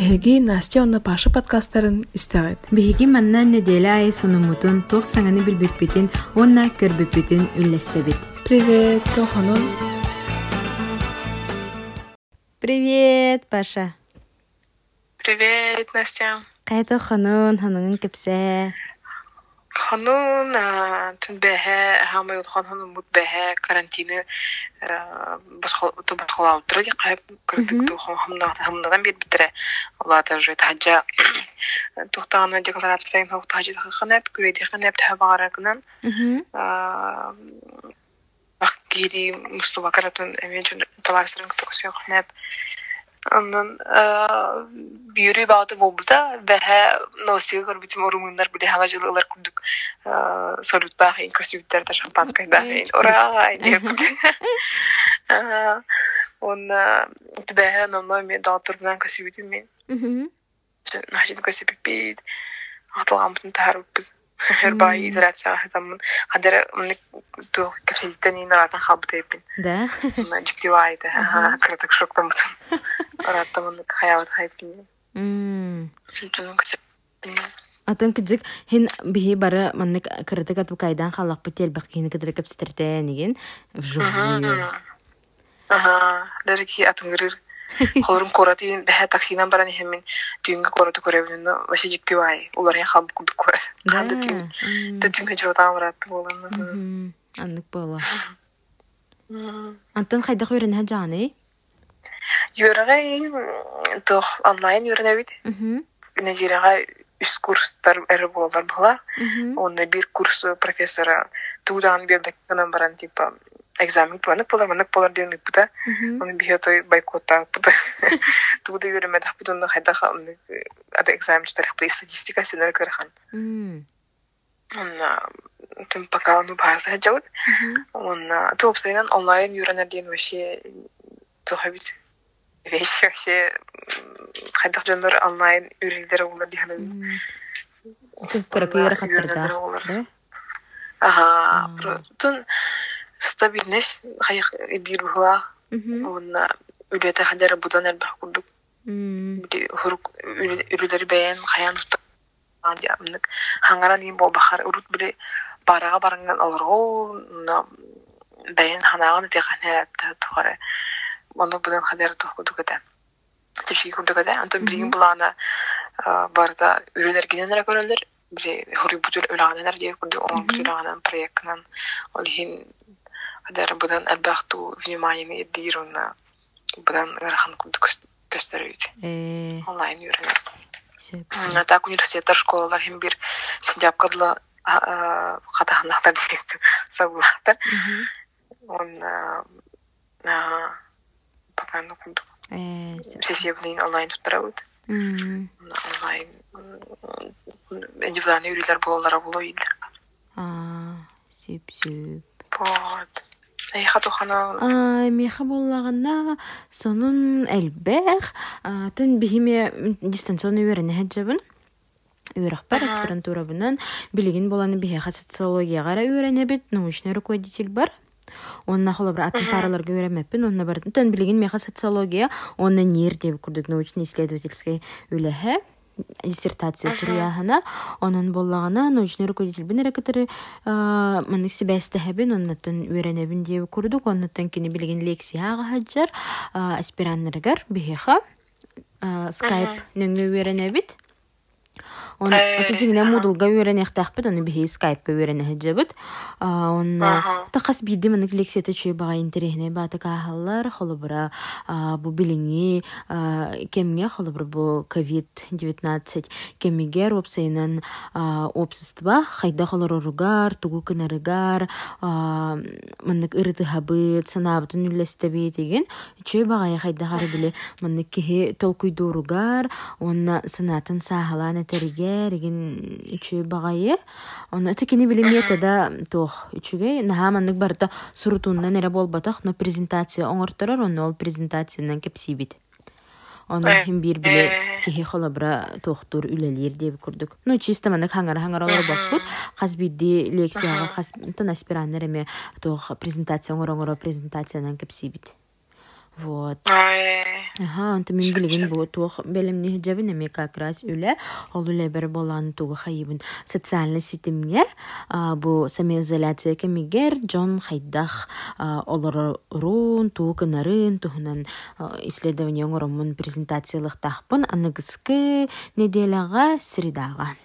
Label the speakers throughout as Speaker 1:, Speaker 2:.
Speaker 1: Биһиги Настя онна Паша подкасттарын истәгәт.
Speaker 2: Биһиги маннан неделе ай сонумутун тох саңаны билбиппитин, онна көрбүппитин үллестебит.
Speaker 1: Привет, Тоханон.
Speaker 2: Привет, Паша.
Speaker 3: Привет, Настя.
Speaker 2: Кайто ханун кепсе.
Speaker 3: Ханун тун бэхэ хамай утхан ханун мут бэхэ карантины басхала утра ди кайп кырдык ту хамнадан бит битре. Аллата же таджа тухтана декларацияларын тухтажы ханап күреди ханап табарагынан. Ахгири мустуба каратун эмежун таларсырын токсуя ханап. Аннан бюри багты болбута бэхэ новостига көрбүтүм орумундар биле хага жылылар күрдүк салютта хин красивиттер да шампанское да ура он бэхэ номно мен доктор менен красивитим мен нахид красивит аталгамтын тарып Herbai изоляция там хадер мне то капсидтени нарatan хабтайпин.
Speaker 2: Да.
Speaker 3: Наҗиктивайда. Кратык шоктан бутым. Араттан хаялат хайпин. Шунтун кесеп.
Speaker 2: Атын кидик хин бихи бары манны кратык ату кайдан халак бител бакины кидер капситердениген вжугую.
Speaker 3: Дәрки атыңгырыр. Холрум коратин бәһә таксинан баран хәмин түйөнгә кораты күрәбенне вася җиктивай. Улар я хаб кудык күр. Хәлдә түйөнгә җотам барат булган.
Speaker 2: Аннык була. Антан хайда күрәнә җаны?
Speaker 3: Йөргәй тох онлайн йөрнә бит. Нәҗирәгә үз курслар әре булалар була. Онда бер курс профессора тудан бирдек генә баран типа экзамен планы полар денег бута. Он бихотой бойкота бута. Туда йөрмәдә бутында хайда хәлне ада экзамен тарих по статистика сенер кырхан. Он тем пока он база җават. Он топсайнан онлайн йөрәнә дигән вообще тохабит. Вообще хайда җаннар онлайн йөрилдер булды дигән.
Speaker 2: Күрәк йөрә хәттердә.
Speaker 3: Тун стабильность хаяк идирбула. Он үләтә хәдәр будан әлбәх курдук. Хурук үләләр бәян хаян andi amnik hangara nim bo bahar urut bile baraga barangan alro бәян ханаган тегәнә тухара. Моны будан хәдәр тухудугата. Тепши курдугата антон билген булана барда үләләр генераль көрәләр. Биле хури бутул үләгәннәр дип курду он бутулган проектнан олхин хәдәр будан әлбәхту внимание дируна будан гархан курдук көстәрүт. Онлайн йөрәләр. Так университеттер, школалар һәм бер сентябрьдә хатахнахтар дистем сагулахтар. Он пока не курдук. Сессия онлайн туттырабыт. Онлайн индивидуальный юрилер булалар булой.
Speaker 2: Сөп.
Speaker 3: Вот. Хатухана.
Speaker 2: Меха буллаганна сонун әлбәх. Тын бихиме дистанционный үрәне һәҗәбен. Үрәхбәр аспирантура белән билеген буланы бихә социологиягә үрәнә бит, научный руководитель бар. Онна холобра атын параларга үрәмәппен, онна бар. Тын билеген меха социология, онна нер дип күрдек научный исследовательский үләһә. Диссертация сурияхана, онан боллагана научный руководитель бен ректоры манык себәстәһәбен оннан үрәнәбен дип күрдек, оннан кини билеген лекцияга хаҗар аспирантларга бихеха Skype нөңгө үрәнәбит. Он атыгына модулга үрәнәхтәхбит, аны бихе Skype-га үрәнәһәҗәбит. Он тахас биде мен лекцияте чөй бага интерехне батыка халлар, холобра бу билинги кемгә холобра бу COVID-19 кемгә ропсайнан общество хайда холорогар, тугу кынарыгар, менник ирите хабыт, санабытын үлләстәбе дигән чөй бага хайда хары биле менник ки толкуйдуругар, онна санатын сахаланы терге реген чөй багайы. Оны тикини билемете да тох үчүгө нахаманнык барда сурутундан эре болбатак, но презентация оңортторор, оны ол презентациянан кепсибит. Оны хим бир биле кихи холобра тохтур үлелер деп күрдүк. Ну чисто мана хаңар олор бакут. Хас бидди лекцияга хас тон аспиранттар эме тох презентация оңоро презентациянан кепсибит. Вот. Ага, онта мен билеген бу туох белемни жабын эме как раз үле ол үле бер болан тугу хайыбын социальный сетимге бу самоизоляция кемигер Джон хайдах олорун туу кынарын туһунан исследование оңоромун презентациялык тахпын аныгыскы неделяга средага.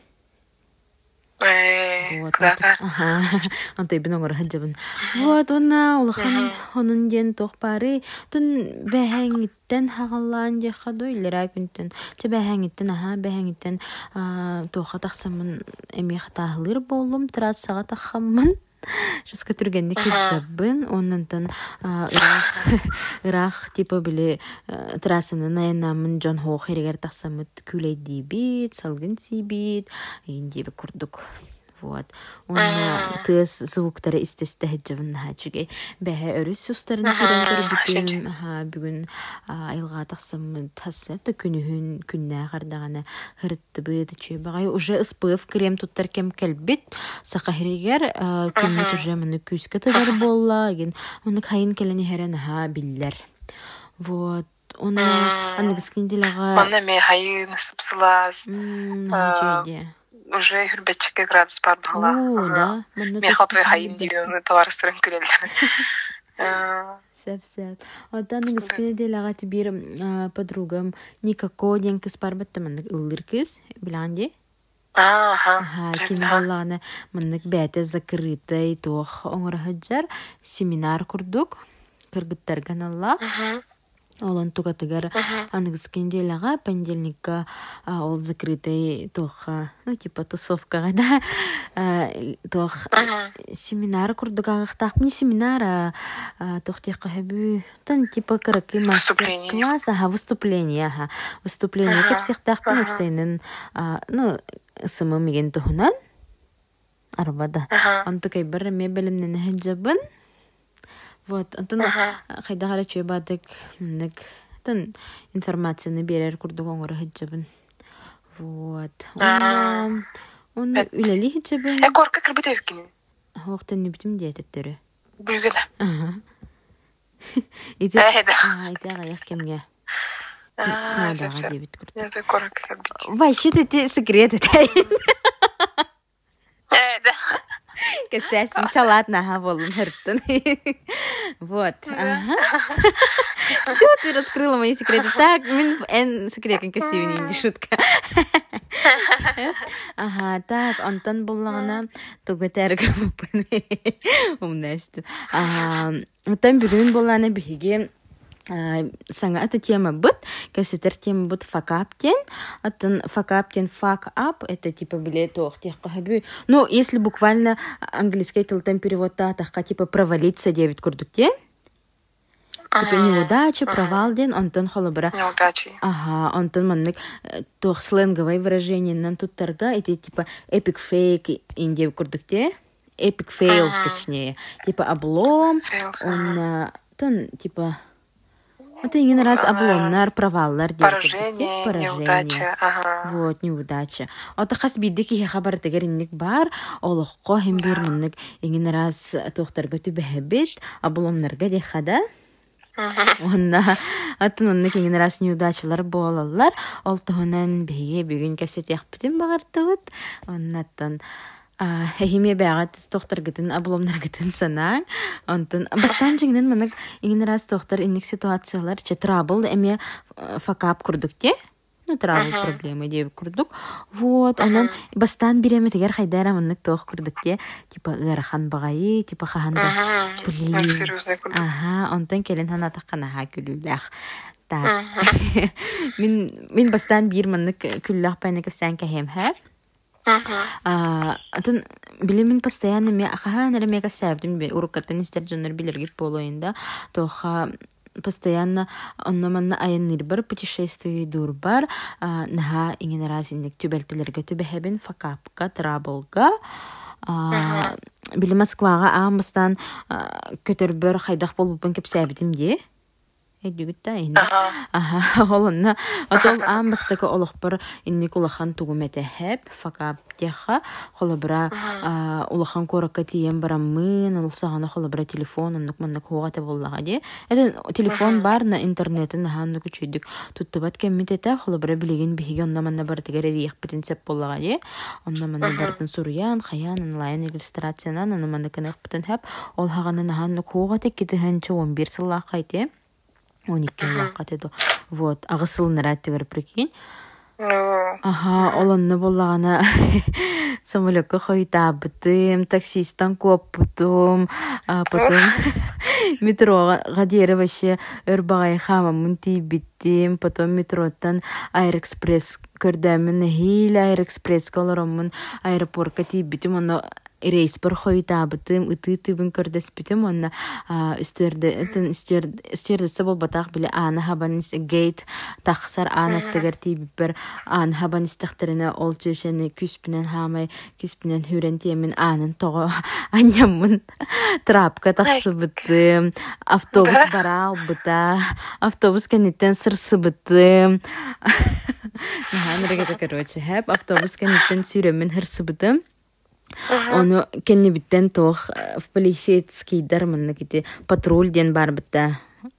Speaker 2: Вот, онтой бин оңор хаджабын. Вот, онна улахан онун ден тохпары тун бэхэнгиттен хагаллаан де хадой лера күнтен. Те бэхэнгиттен тоха тахсамын эми хатахлыр болум трассага тахаммын. Жуска түргенде кетсабын, оннан ырах типа биле трассаны наянамын Джон Хоу херегер тахсамыт күлейди бит, салгын сибит, индебе курдук. Вот. Онна тыз звуктары истесте хеджабын хачуге. Бэхэ өрүс сустарын керен көрбүтүм. Бүгүн айылга тахсамыт тассырты күнүхүн күннэ кардагана хырытты быйды чүй багай уже СПФ крем туттар кем келбит. Сака херегер күннү уже мыны күскө тыгар болла. Мыны кайын келени херен биллер. Вот. Онна аныгыскинделага
Speaker 3: Манна ме хайын сыпсылас. Уже хүрбетчикке градус бар бала.
Speaker 2: Да.
Speaker 3: Мен хатвы хайын деген товарыстырым күрелер.
Speaker 2: Сәп. Одан аныгыскинделага бир подругам никакой ден кыз бар баттамын ыллыр кыз биланди. Кин болланы мынык бәте закрытай тох оңор хаджар семинар курдук кыргыттар каналла. Олан тугатыгар аныгыскинделага понедельникка ол закрытай тох, типа тусовка да. Тох семинар курдук агыктак не семинар, тох тек хабу тан типа каракы мастер-класс, выступление, выступление кеп сехтак папсенин, сымы меген тухунан арбада. Антыкай бер мебелимнен хаджабын. Вот, антон хайдагара чөбадык мынык тан информацияны берер курдук оңор хаджабын. Вот. Он үлели хаджабын.
Speaker 3: Корка кырбыт өккин.
Speaker 2: Хоктан не битим диететтери.
Speaker 3: Бүлгеле.
Speaker 2: Ите аяк кемге.
Speaker 3: Надо
Speaker 2: дебит курд.
Speaker 3: Это корка кырбыт.
Speaker 2: Вообще ты секрет это. Кэсэсин чалатна волун хырттын. Вот. Все, ты раскрыла мои секреты. Так, мен секретен кэсивин инди шутка. Так, онтан боллагана тугатарга мупын. Умнасту. Оттан бүгүн боллана биге саңа эта тема быт, кэвсетер тема быт факаптен, атын факаптен fuck up, это типа билет ох тех кахабю. Ну, если буквально английский тилтен перевод тахка типа провалиться 9 курдуктен, типа неудача, провал ден, онтон холобра.
Speaker 3: Неудачи.
Speaker 2: Онтон маннык тох сленговое выражение нан тут торга, это типа epic fake индев курдукте, epic fail, точнее, типа облом, он тон типа это иген раз обломнар, проваллар.
Speaker 3: Поражение, неудача.
Speaker 2: Вот, неудача. Ота хас биддик ие хабар тегеринник бар, олыққа хем бермінник иген раз тоқтарға түбәхебет, обломнарға дехада. Онна, атын онник иген раз неудачалар болалар, ол тұғынан бейге бүгін кәпсет яқпытын бағартығыт. Оннаттан хеме бәгат тоқтар гытын обломнар гытын санаң. Онтон бастан жигнен мынык иген раз тоқтар инник ситуациялар че трабл эме факап курдукте. Ну трабл проблемы деп курдук. Вот, онан бастан биреме тегер хайдара мынык тох курдукте, типа ырахан багайы, типа хаханда. Блин.
Speaker 3: Серьезный курдук.
Speaker 2: Онтон келен хана таққанаха күлүләх. Так. Мин бастан бир мынык күлләх пайны кефсән кәһемһәр. Атын билимин постоянно ме ахаһанара мега сәвдим уруккаттан истер жоннор билерге болоюнда тоха постоянно оннаманна айынныр бар путешествие дур бар наха иңен разинник түбелтелерге түбәһәбен факапка траблга били Москвага амбастан көтөрбөр хайдах болбуппун кеп сәбитим де эдүгүттэ инде олонна отол амбастака олохпор инник улахан тугуметэхэп факаптеха холобра улахан коракка тиен бараммын улсагана холобра телефон аннук маннак хугата боллага ди эден телефон бар на интернетин хаанну күчүдүк туттубат кеммитете холобра билигин биһиги онна манна бартыгар эриях битинсеп боллага ди онна манна бартын суруян хаян онлайн иллюстрациянан аны манна кынак битин хап ол хаганын хааннук хугата китихенче 11 сыллах кайте 12 лақат еді. Вот, ағысылын рәттігір прикинь. Олонны болағана самолетка қойтабытым, таксистан көппутым, потом метроға дері ваще өрбағай хамамын тейбіттім, потом метроттан Аэроэкспресс көрдәмін, хейл Аэроэкспрессқа оларамын, аэропортқа тейбіттім, оны рейс бір қойтабытым, үті-үтібін көрдеспітім, оны үстердесі бол батақ білі аны хабаныс гейт тақсар анаттығыр тейбіп бір аны хабаныс тақтырына ол жөшені күспінен хамай, күспінен хүрен теймін анын тоғы анямын трапқа тақсы бітім, автобус бара албыта, автобус кәнеттен сырсы бітім. Автобус кәнеттен сүремен хырсы бітім. Оны кенне биттен тох в полицейский манна кити патруль ден бар битта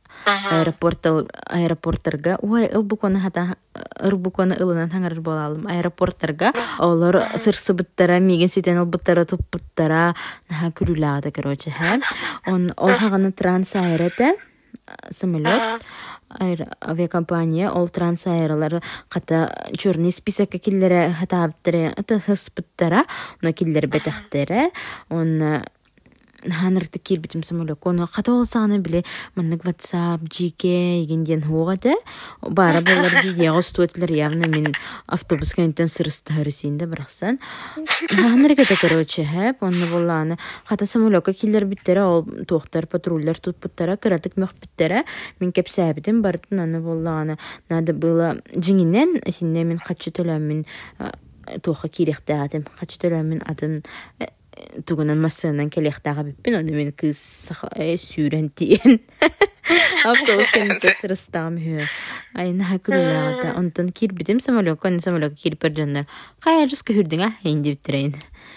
Speaker 2: аэропорттарга ой ылбукона хата ырбукона ылынан таңар болалым аэропорттарга олар сырсы биттара миген ситен ылбыттара туппуттара наха күрүлаада короче он ол хаганы трансаэрете самолет авиакомпания ол трансаэрлар ката черный список киллере хатаптыра это хоспиттара но киллер бетахтера он ханырты кирбитим самолет кону ката олсаны биле маннык WhatsApp GK генден хугада бара болар видео стоитлер явно мен автобус кенттен сырыстарысында бираксан ханырга да короче онны болланы ката самолетка киллер биттера ол токтор патрульдер тутпуттара кыратык мөхбиттера мен кепсәбидим бартын аны болланы надо было жиңинен синне мен качы төлөмүн тоха кирехтәдим качы төлөмүн атын тугунан массанан келехтага биппин оны мен кыз сүүрен тиен автобус кенте сырыстам хө айна күлүләгә онтон кирбитим самолет кирпер жандар кая жыс көрдүң инде битрейин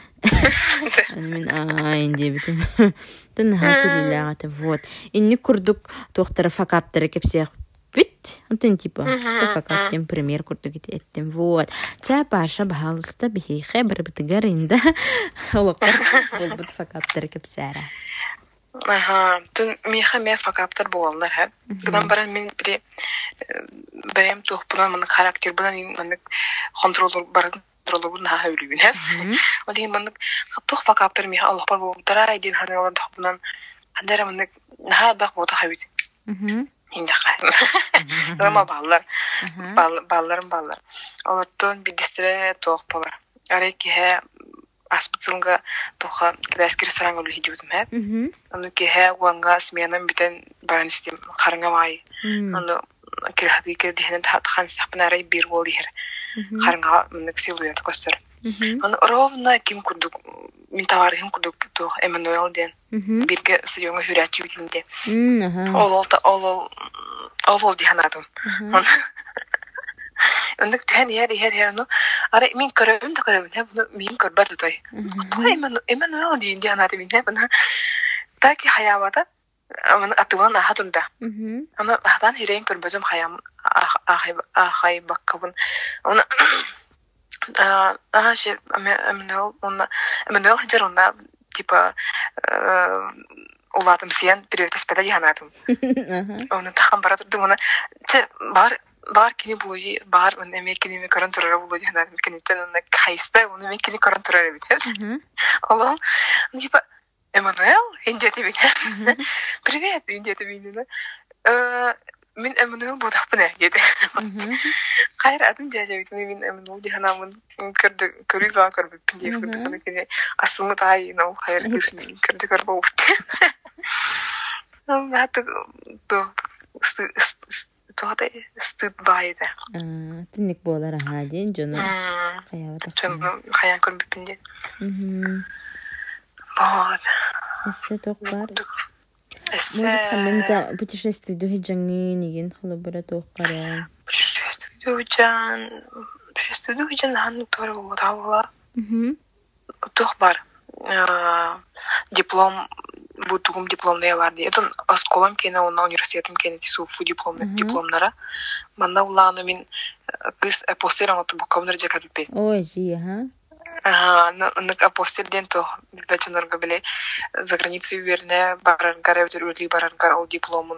Speaker 2: мен инде битим тын күлүләгә вот инни курдук токтора факаптары кепсех бит онтон типа факаптем премьер курдук еттим вот та баша баалыста бихи бир битгер инде олоктор болбут факаптары кепсәре
Speaker 3: тун миха факаптар болалар ха гынан баран мен бире бәем тухпунан мен характер булан мен контролдор бар контролдор на хавлүгүн ха оди мен тух факаптар миха Аллах бар болдара айдин ханалар тухпунан андара мен на бак бота хавит инде норма баллар олардан бидистре тоқ болар ареки аспыцылга тоха кдаскер сарангол хижудум аны ке уанга сменам битен баранистим карыңамай аны кирхади кирдихен татхан сапнарай бир бол дихер карыңга мындык силуэт костер аны ровно ким курдук мин товарым курдук тох Эммануэл ден бирге сыйонга хүрәчү битинде ол диханадым Ондак тән яр ну аре мин көрөм мин көрбөт той. Той Эммануэл дийинде анаты мин бана таки хаябата аны атуган хатунда. Аны хатан хирен көрбөтөм хаям ахай баккабын. Аны ше Эммануэл жарына типа улатым сен привет спеда диханатым. Аны тахан баратырдым аны бар кини булуй бар мен эмекини көрөн турар булуй жана мекенитен аны кайста уну мекини көрөн турар бит. Алло. Типа Эммануэл инде тебе. Привет, инде тебе. Мен Эммануэл бодаппын деди. Кайра адым жажабыт мен Эммануэл диханамын көрбөппүн деп көрдүм. Асылмы тай но кайра кысмын көрбөппүн. Хаты тоғада стыд байды.
Speaker 2: Тінник болар ден жоны
Speaker 3: қаян көрбеппінде. Болады.
Speaker 2: Әсі тоқ бар? Может, хаммамита путешествие духи джанги нигин холобара тоққаран.
Speaker 3: Путешествие духи хан тора болла. Тух бар. Диплом бутугум дипломная бар. Это осколом кена на университетом кена тисуфу дипломнара. Манда уланы мин кыз апостиран от буковнер жакалпе.
Speaker 2: Ой, жи, ага.
Speaker 3: На апостирден то бачанорга биле за границу верне барангар евдерли барангар ол дипломун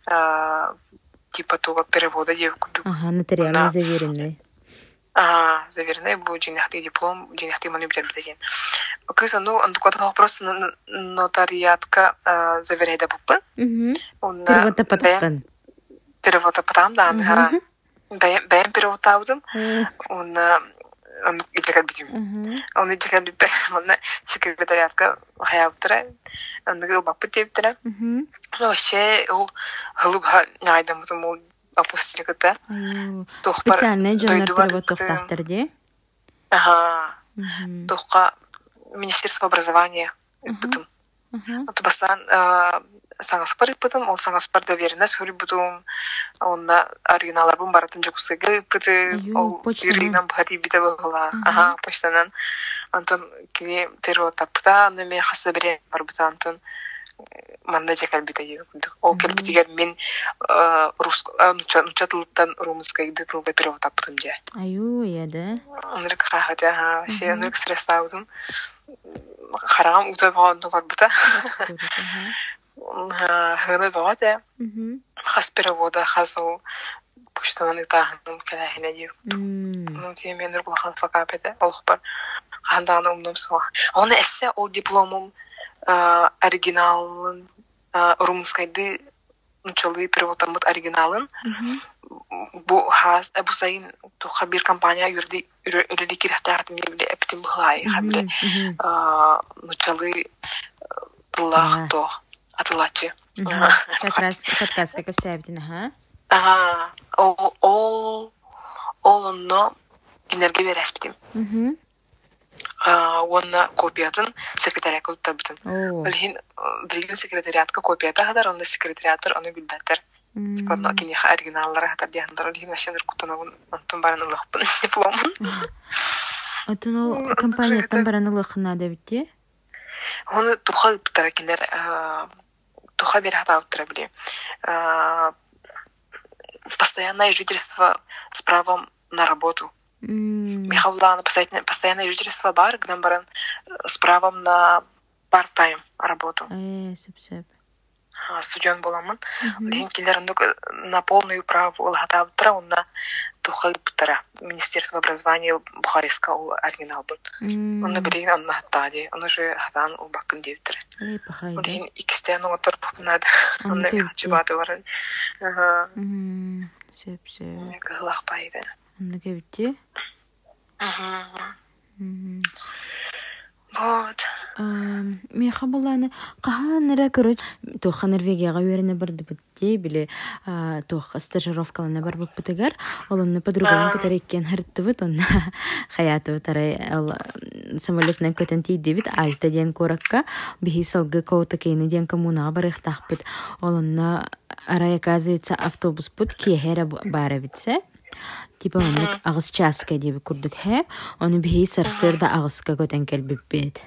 Speaker 3: типа того перевода девку.
Speaker 2: Ага, нотариально заверенный.
Speaker 3: Заверенный был женихтый диплом, женихтый манипулятор беден. Кыз он только вопрос нотариатка заверяет буквы.
Speaker 2: Перевода потом.
Speaker 3: Перевода потом, да. Бэм перевода аудом. Он идет беден. Он идет беден. Он секретариатка хаявтра. Он говорил бапутевтра. Но вообще ол халуга найдем тому опустили-то.
Speaker 2: Специальный журнал перевод тохтахтар, де?
Speaker 3: Ага. Тохка Министерство образования. Потом. Вот бастан саңаспар потом, он саңаспар доверенность хuri потом он оригиналларбын баратын жокусыгы пыты ол бирлигинен бахати бите была. Ага, почтанан. Антон кини перевод тапта, но мен хаса бере бар быта Антон. Манда жакалбита ебекүндүк. Ол келбитигер мен нучатылыттан румыскай дытылда перевод таптым же.
Speaker 2: Аю, я да.
Speaker 3: Онрык хахата, вообще онрык стресс аудым. Харагам утай баганды бар бута. Хыны багата. Хас перевода, хас ол почтанан итахым келахина ебекүндүк. Ну, тем мен рукулахан факапеде. Ол хупар. Ханданы умдым суа. Оны эссе ол дипломум оригиналын румынскайды началы переводтан бут оригиналын бу хас бу сайын туха бир компания юрди өрели кирахтартым еле эптим бухлай хамле началы тулах то атылачы.
Speaker 2: Как раз подкаст как вся эптина,
Speaker 3: ага. Ол онно кинерге берес битим. Онна копиятын секретариатка туттабытын. Билген секретариатка копията хадар, онда секретариатор оны билбеттер. Онна кинеха оригиналлары хатар дияндыр. Билген машиндар кутанагын антон баран ылықпын дипломын.
Speaker 2: Атын ол компанияттан баран ылықына да битти?
Speaker 3: Оны туха ыптара кинер, туха бер хата ыптара биле. Постоянное жительство с правом на работу. Михаулана постоянное жительство бар, к нам баран с правом на part-time работу.
Speaker 2: Сеп.
Speaker 3: Студент боламын. Линкилер на полную право улгата утра, он на тухалптара. Министерство образования Бухарестского оригинал был. Он на берегу он на хатаде, он уже хатан у бакын девтер. Лин икстену отор надо. Он на чебаты варен.
Speaker 2: Сеп.
Speaker 3: Галах пайда.
Speaker 2: Он гевти.
Speaker 3: Вот.
Speaker 2: Меха буланы каханыра көрөч тоха Норвегияга верене барды битти биле тоха стажировкалана бар битегер олонны подругам кетереккен хырттыбыт онна хаятыбы тарай самолетнан көтөнти дебит альта ден коракка бихи салгы коута кейни ден коммуна барыхтахпыт олонна арай оказывается автобус пут киехера бара битсе типа онлык агыс часка деп күрдүк хэ оны бихи сарсырда агыска көтөн келбиппит.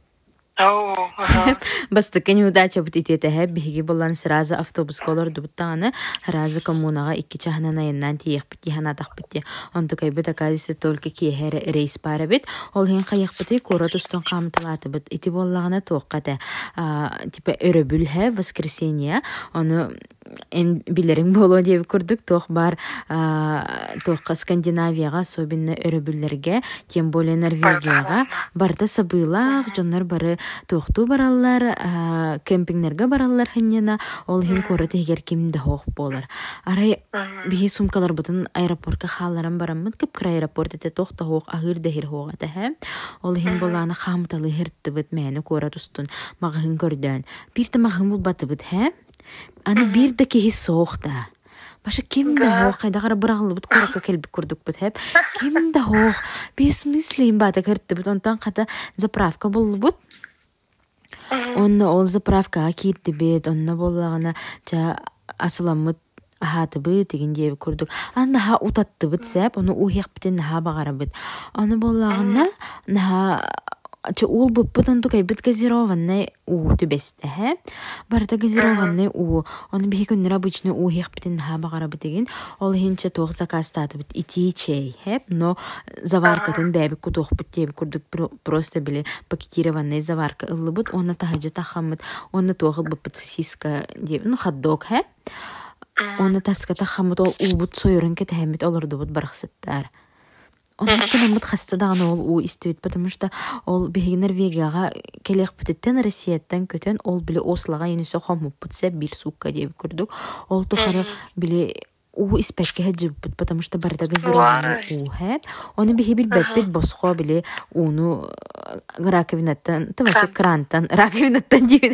Speaker 2: Бастыка неудача бут итете хэ биһиги боллан сразу автобус колор дубтаны сразу коммунага 2 чахнана яннан тиехпити ханатахпити онто кайбыт оказывается только киехер рейс парабит ол хин кайехпити кора тустон камталаты бит ити боллагана тоқката типа өрөбүл хэ воскресенье оны эн билерин боло деп көрдүк тоқ бар тоққа Скандинавияга особенно өрөбүллерге тем более Норвегияга барда сабыйлак жоннор бары тоқту бараллар кемпингнерге бараллар хиннена ол хин корыты егер кимде хоқ болар арай бихи сумкалар бутын аэропортка халларан бараммыт кыпкыр аэропорт эте тоқта хоқ агыр дехир хоқ ата ол хин боланы хамталы хиртты бит мэни кора тустун магын көрдөн бирте магын булбаты бит аны бирде кихи соқта баша кимде хоқ кайдагара бырагылы бит коракка келбик көрдүк бит кимде хоқ бесмыслим бата кертти бит онтан ката заправка болбут Онна ол заправкага кирдибит, онна боллагана жа асыламмыт ахатыбы деген диэби курдук. Наха утаттыбыт сэп, ону ухиякбитин наха багарабыт. Ону боллагана наха ул буппут онту кайбыт газированный у түбесте, барда газированный у, оны бихи күннер обычно ухиякбитин наха багарабыт деген, ол хинче тоқ закастатыбыт ити чей, но заваркатын бәби кутуқбыт диэби курдук, просто били пакетированный заварка ыллыбыт, оны тахаджа тахамыт, оны тоқыл буппут сосиска диэби, хот-дог, Оны таска тахамыт ол убут сойрын кетәмит олордубут барахсыттар. Оны кенемит хастадаган ол у истебит, потому что ол биги Норвегияга келек битеттен Россияттан көтен ол биле Ослога енесе хомуп бутса бир сукка деп көрдүк. Ол тухары биле у испекке хаджибыт, потому что барда газированный у хэп. Оны биги билбеппит босхо биле уну раковинаттан, тавашы раковинаттан дейбит.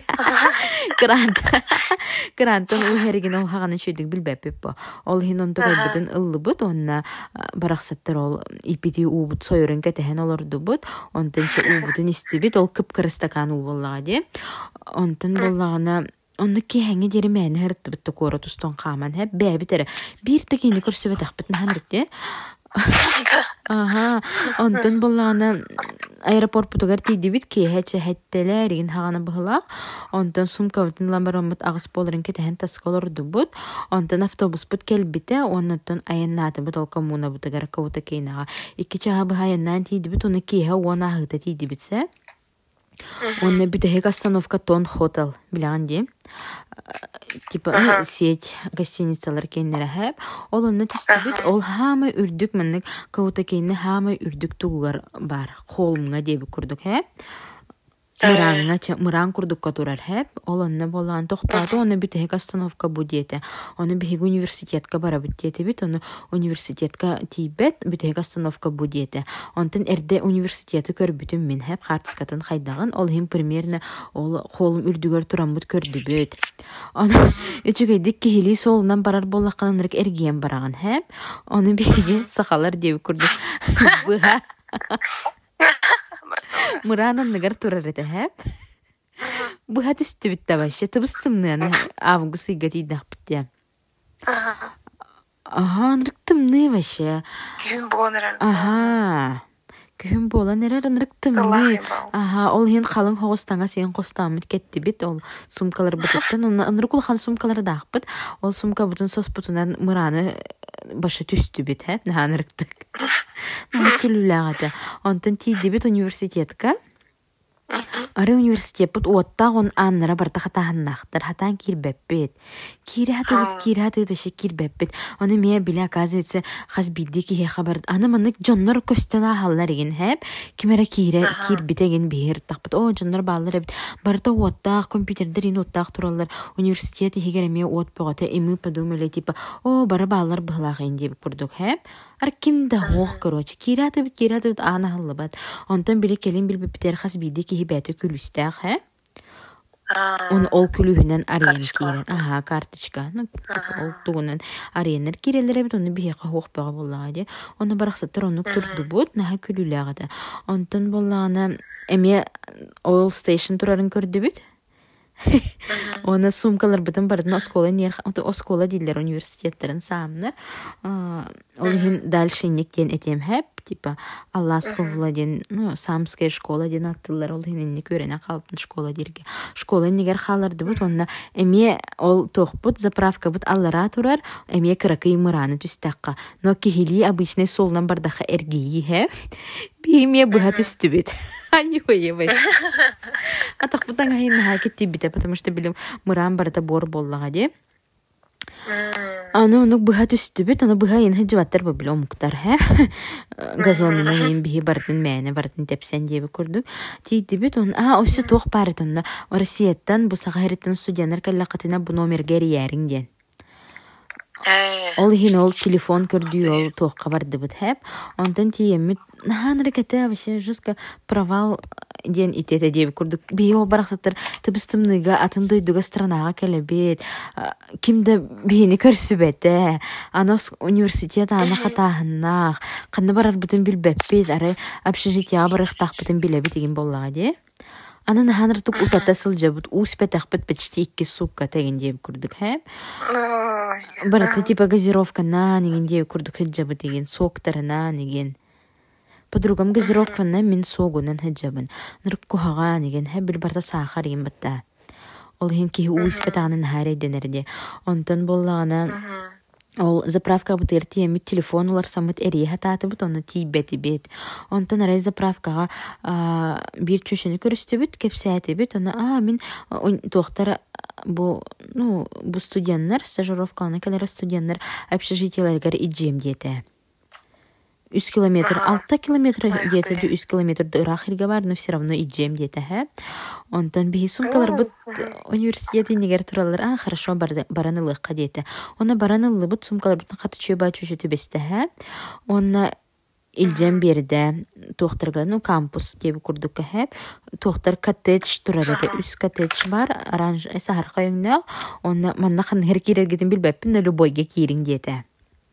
Speaker 2: Крантан у хереген ол хаганы чөйдік билбеппит по. Ол хин онты кайбытын ыллыбыт, онна барақсаттар ол ипити уубут сойырын кәтәхен олордубыт, онтынчы уубутын истебит, ол кып-кырыстакан ууболлаға де. Онтын боллағына Онны кехеңе дери мәні хәрітті бітті кора тұстон қаман. Бәбі тәрі. Bir тәкені көрсөбет ақпытын ханрыкте. Онтын боллағына аэропорт бұтығар тейді бит кехәчі хәттелерігін хағаны бұғылақ. Онтын сумка бұтын ламбарон бұт ағыс болырын кетәхен тасколорды бұт. Онтын автобус бұт кәл біті, оннаттын айыннаты бұт ол коммуна бұтығар кауыта кейнаға. Икі чаға бұға айыннан тейді бит, оны кеха уана ағыта тейді бітсі. Он битəhек остановка Тон Хотел биләгән ди. Типа сеть гостиницалар кеннәре һәп. Ол онны төстүбит, ол һәме үрдүк менник каута кенне һәме үрдүк тугар бар. Холмга дип күрдүк һәп. Мыран курдукка турар һәп. Ол онны болган тохтады, оны битəhек остановка бу диете. Оны бихек университетка бара бит диете бит, оны университетка тибет битəhек остановка бу диете. Онтын эрде университеты көрбүтүм мен һәп хартскатын хайдаган. Ол хим примерно ол холым үрдүгөр туран бут көрдү бит. Аны үчүгейдик кихили солунан барар боллакканырык эрген бараган һәп. Оны бихек сахалар дип күрдүк. Буга Мыранан нагар турар эте һәп. Буга төстү бит табашы. Тыбыстымны аны август игати дахпытя. Нырыктымны башы.
Speaker 3: Күн боланыр.
Speaker 2: Күн боланыр нырыктымны. Ол хин халың хоғыстанға сен қостамыт кетті бит. Ол сумкалар бұтыттан. Ныры кулхан сумкалары дахпыт. Ол сумка бұтын сос бұтынан мыраны башы түстү бит һәп. Нырыктык. Күлүләгәте. Онтын тиді бит университетка. Ары университет бут уоттагын аннара барта хатаһыннахтар хатан кирбеппет. Кире кирбеппет. Аны мия биле оказывается хазбидди ки хабар. Аны мынык жоннор көстөна халлар еген һәп. Кимере кирбитеген бер таппыт. О жоннор баллар бит. Барта уоттаг компьютердер ин уоттаг тураллар. Университет хигереме уот богата эми подумали типа о бара баллар быглагын дип күрдүк һәп. Аркимда хоох короче кираты бит ана халлабат. Онтан биле келин билбептер хазбидди ки хибәте күлүстәг һә. Ол күлүһүнән арен кирен. Карточка. Ол тугунан аренер кирелер бит, оны бихе хоох бага буллага ди. Оны бараксаттар оны турду бут, наха күлүләгәдә. Онтан буллаганы эме oil station турарын көрдү бит. Оны сумкалар битен бардын оскола нер, оскола дилер университеттерин самны. Ол хин дальше никтен этем һәп, типа Алласков Владен, Самская школа ден аттылар, ол хин не көренә калыпты школа дирге. Школа нигер халарды бут, онна эме ол тохпут заправка бут аллара турар, эме кыракы мыраны түстәкка. Но кихили обычный солнан бардаха эргии һәп. Биме буга түстү бит. Ой. Атак бутан хин хакетти бит, потому что билем мыран барда бор боллага ди. Аны буга түстү бит, аны буга ен хҗваттар билем муктар һә. Газонна ен бихи бардын мәне бардын тепсен дип күрдүк. Тиди бит он осы тох барытында Россияттан бу сагарыттан студентлар каллакатына бу номерге ярин ден. Ол хин ол телефон көрдү, ол тохка барды бит һәп. Онтан тиемит наханрыката вообще жестко провал ден итете дип күрдүк. Био бараксаттар тыбыстымныга атындай дуга странага келебет. Кимде бини көрсүбете. Анос университет аны хатаһыннах. Кандай барар битен билбеппет. Ары общежитие барыктак битен билебет деген боллага ди. Анан ханыртык утата сылжабыт, успетахпыт почти 2 сутка теген деп курдук, хэ? Барата типа газировка на неген деп курдук хеджабы деген, соктарына неген. Подругам газировкана мен согунан хеджабын. Нырк кухага неген, хэ бил барта сахар ем батта. Ол хин ки успетаганын харе денерде. Онтан боллагана ол заправка бутер теми телефон улар самыт эри хататы бут оны тибети бет. Онтан арай заправкага бир чөшөнү көрүстүбүт, кепсәти бит. Оны мен токтар бу студенттер стажировканы келер студенттер общежитиелерге иджем дете. 3 километр, 6 километр где-то 3 километр дырах ирге бар, но все равно иджем где-то, хэ. Онтан бихи сумкалар бут университеты негер туралар, хорошо баранылыкка дете. Она баранылы бут сумкалар бут каты чөба чөшө төбесте, хэ. Онна илжем берде тохтарга, кампус деп курдук, хэ. Тохтар коттедж турады, 3 коттедж бар, оранж сахар кайыңна. Онна манна хан хер кирергедин билбеппин, но любойге кирин дете.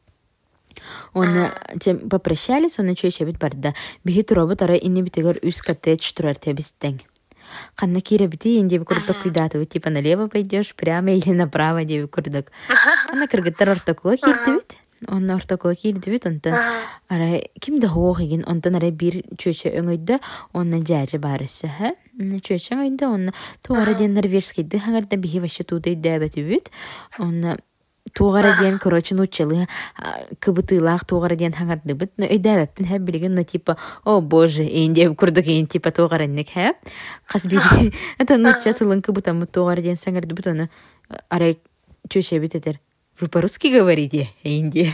Speaker 2: Он попрощались, он чөйшө бит барда. Бихи туробу тара инне битегер 3 коттедж турар тебистен. Канна кире бити инде курдук куйдату, типа налево пойдешь, прямо или направо деп курдук. Ана кыргыттар ортокуга кирди бит. Он ортокуга кирди бит, онтан ара кимде хоох еген, онтан ара бир чөйшө өңөйдө, онна жажы барысы, хэ. Чөйшө өңөйдө, онна тугара ден норвежскийди, хаңарда бихи вашы туудай дәбәтү бит. Онна тугара ден, короче, нучалы кыбытылах тугара ден хаңарды бит. Но өйдәбәппин хэ билеген, но типа, о боже, инде курдук ен типа тугара нек, хэ. Кас биди, это нуча тылын кыбытамы тугара ден саңарды бит, оны арай чөйшө бит этер. Вы по-русски говорите, инде?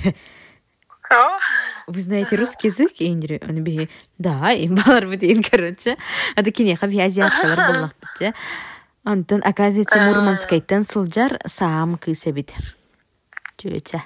Speaker 2: Вы знаете русский язык, инде? Он биги, да, им балар бит ен, короче. Ады кинеха би азиаткалар боллах бит. Антон, оказывается, Мурманскайтан сылжар саам кыса бит. Чөйче.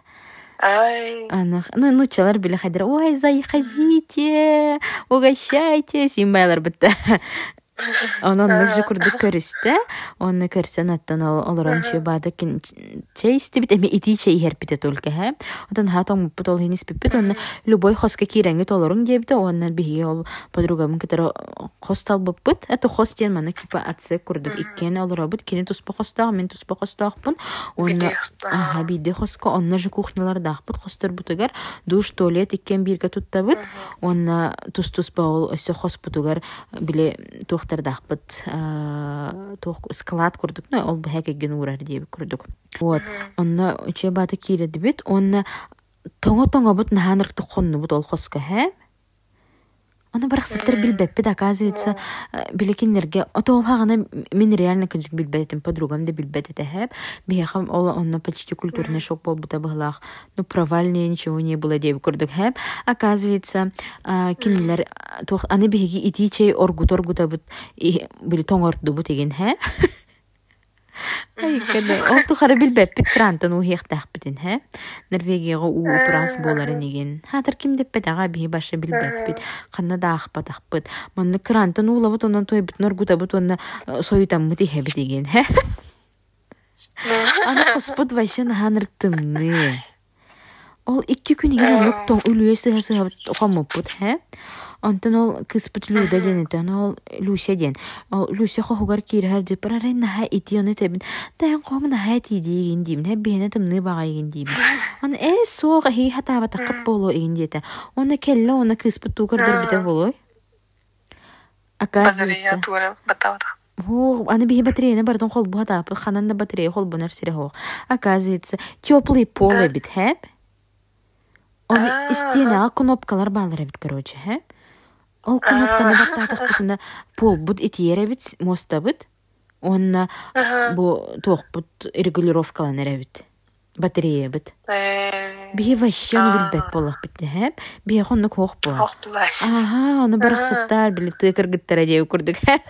Speaker 2: Нучалар биле хайдыр. Ой, заходите, угощайтесь. Имбайлар бітті. Онын же курдук көрүстө. Оны көрсөн аттан олорон чөбады чей истебит. Эми ити чей херпите только, хэ. Отан хатон муппут ол хинис пиппит. Оны любой хоска киренги толорун дебді. Онын биги ол подругамын кетер хостал буппут. Это хостен мана кипа атсы курдук. Иккен олоробут. Кені туспа хостаг, мен туспа хостагпын. Оны биде хоска. Онын же кухнялардагпыт. Хостар бутыгар. Душ, туалет иккен бирге туттабыт. Оны туспа ол өсө хоспутугар биле тохтардахпыт склад курдук, но ол бэхэкэген урар деп курдук. Вот. Онна чебаты киреди бит, онна тоңо-тоңо бут наханыркты хонну бут ол хоска, хэ? Она барахсаттар билбеппит, оказывается, билекиннерге, ото ол хагана мен реально кыжык билбетим, подругам да билбетете, хэ? Бихахам онна почти культурный шок бол бута быглах. Ну, провальнее ничего не было деп курдук, хэ? Оказывается, кинилер, аны бихиги итичей оргут-оргута бут, били тоңортду бут еген, хэ? Ай, када, ол тухара билбеппит крантан ухияқтақпытын, хэ? Норвегияға упрас боларын еген. Хатыр ким деппет аға бихи баша билбеппит. Қанна да ақпат. Манны крантан улабыт, онан той бит норгута бут, онна сойтан мұти хебет еген, хэ? Ана қоспыт вайшан ханырттымны. Ол 2 күн еген олық тоң үлуе сығыр-сығыр оқамыппыт, хэ? Антон ол кыспыт Люда денетен, ол Люся ден. Ол Люся хохугар кири харджи парарай наха ити оны тебін. Дайын қоң наха ити дейген деймін. Хәп бейіне тымны баға еген деймін. Он соға хей хатаба тақып болу еген дейті. Оны келі оны кыспыт туғырдар біте болу.
Speaker 3: Батарея туғыры батавадық.
Speaker 2: Аны бихи батареяны бардын қол бұға тапы. Хананда батарея қол бұнар сире хоқ. Оказывается, теплый поле бит, хәп? Оны истенеға кнопкалар бағлар бит, короче, хәп? Ол кнопканы баттатық бұтына пол бұд етиер бит, моста бит. Онна бұ тоқ бұд регулировкалан әрәбит. Батарея бит. Бихи вообще оны білбәк болақ бітті, хәп? Бихи қонны қоқ бұла.
Speaker 3: Қоқ бұла.
Speaker 2: Оны барықсыттар білі тұйқыр гіттара деу күрдік, хәп?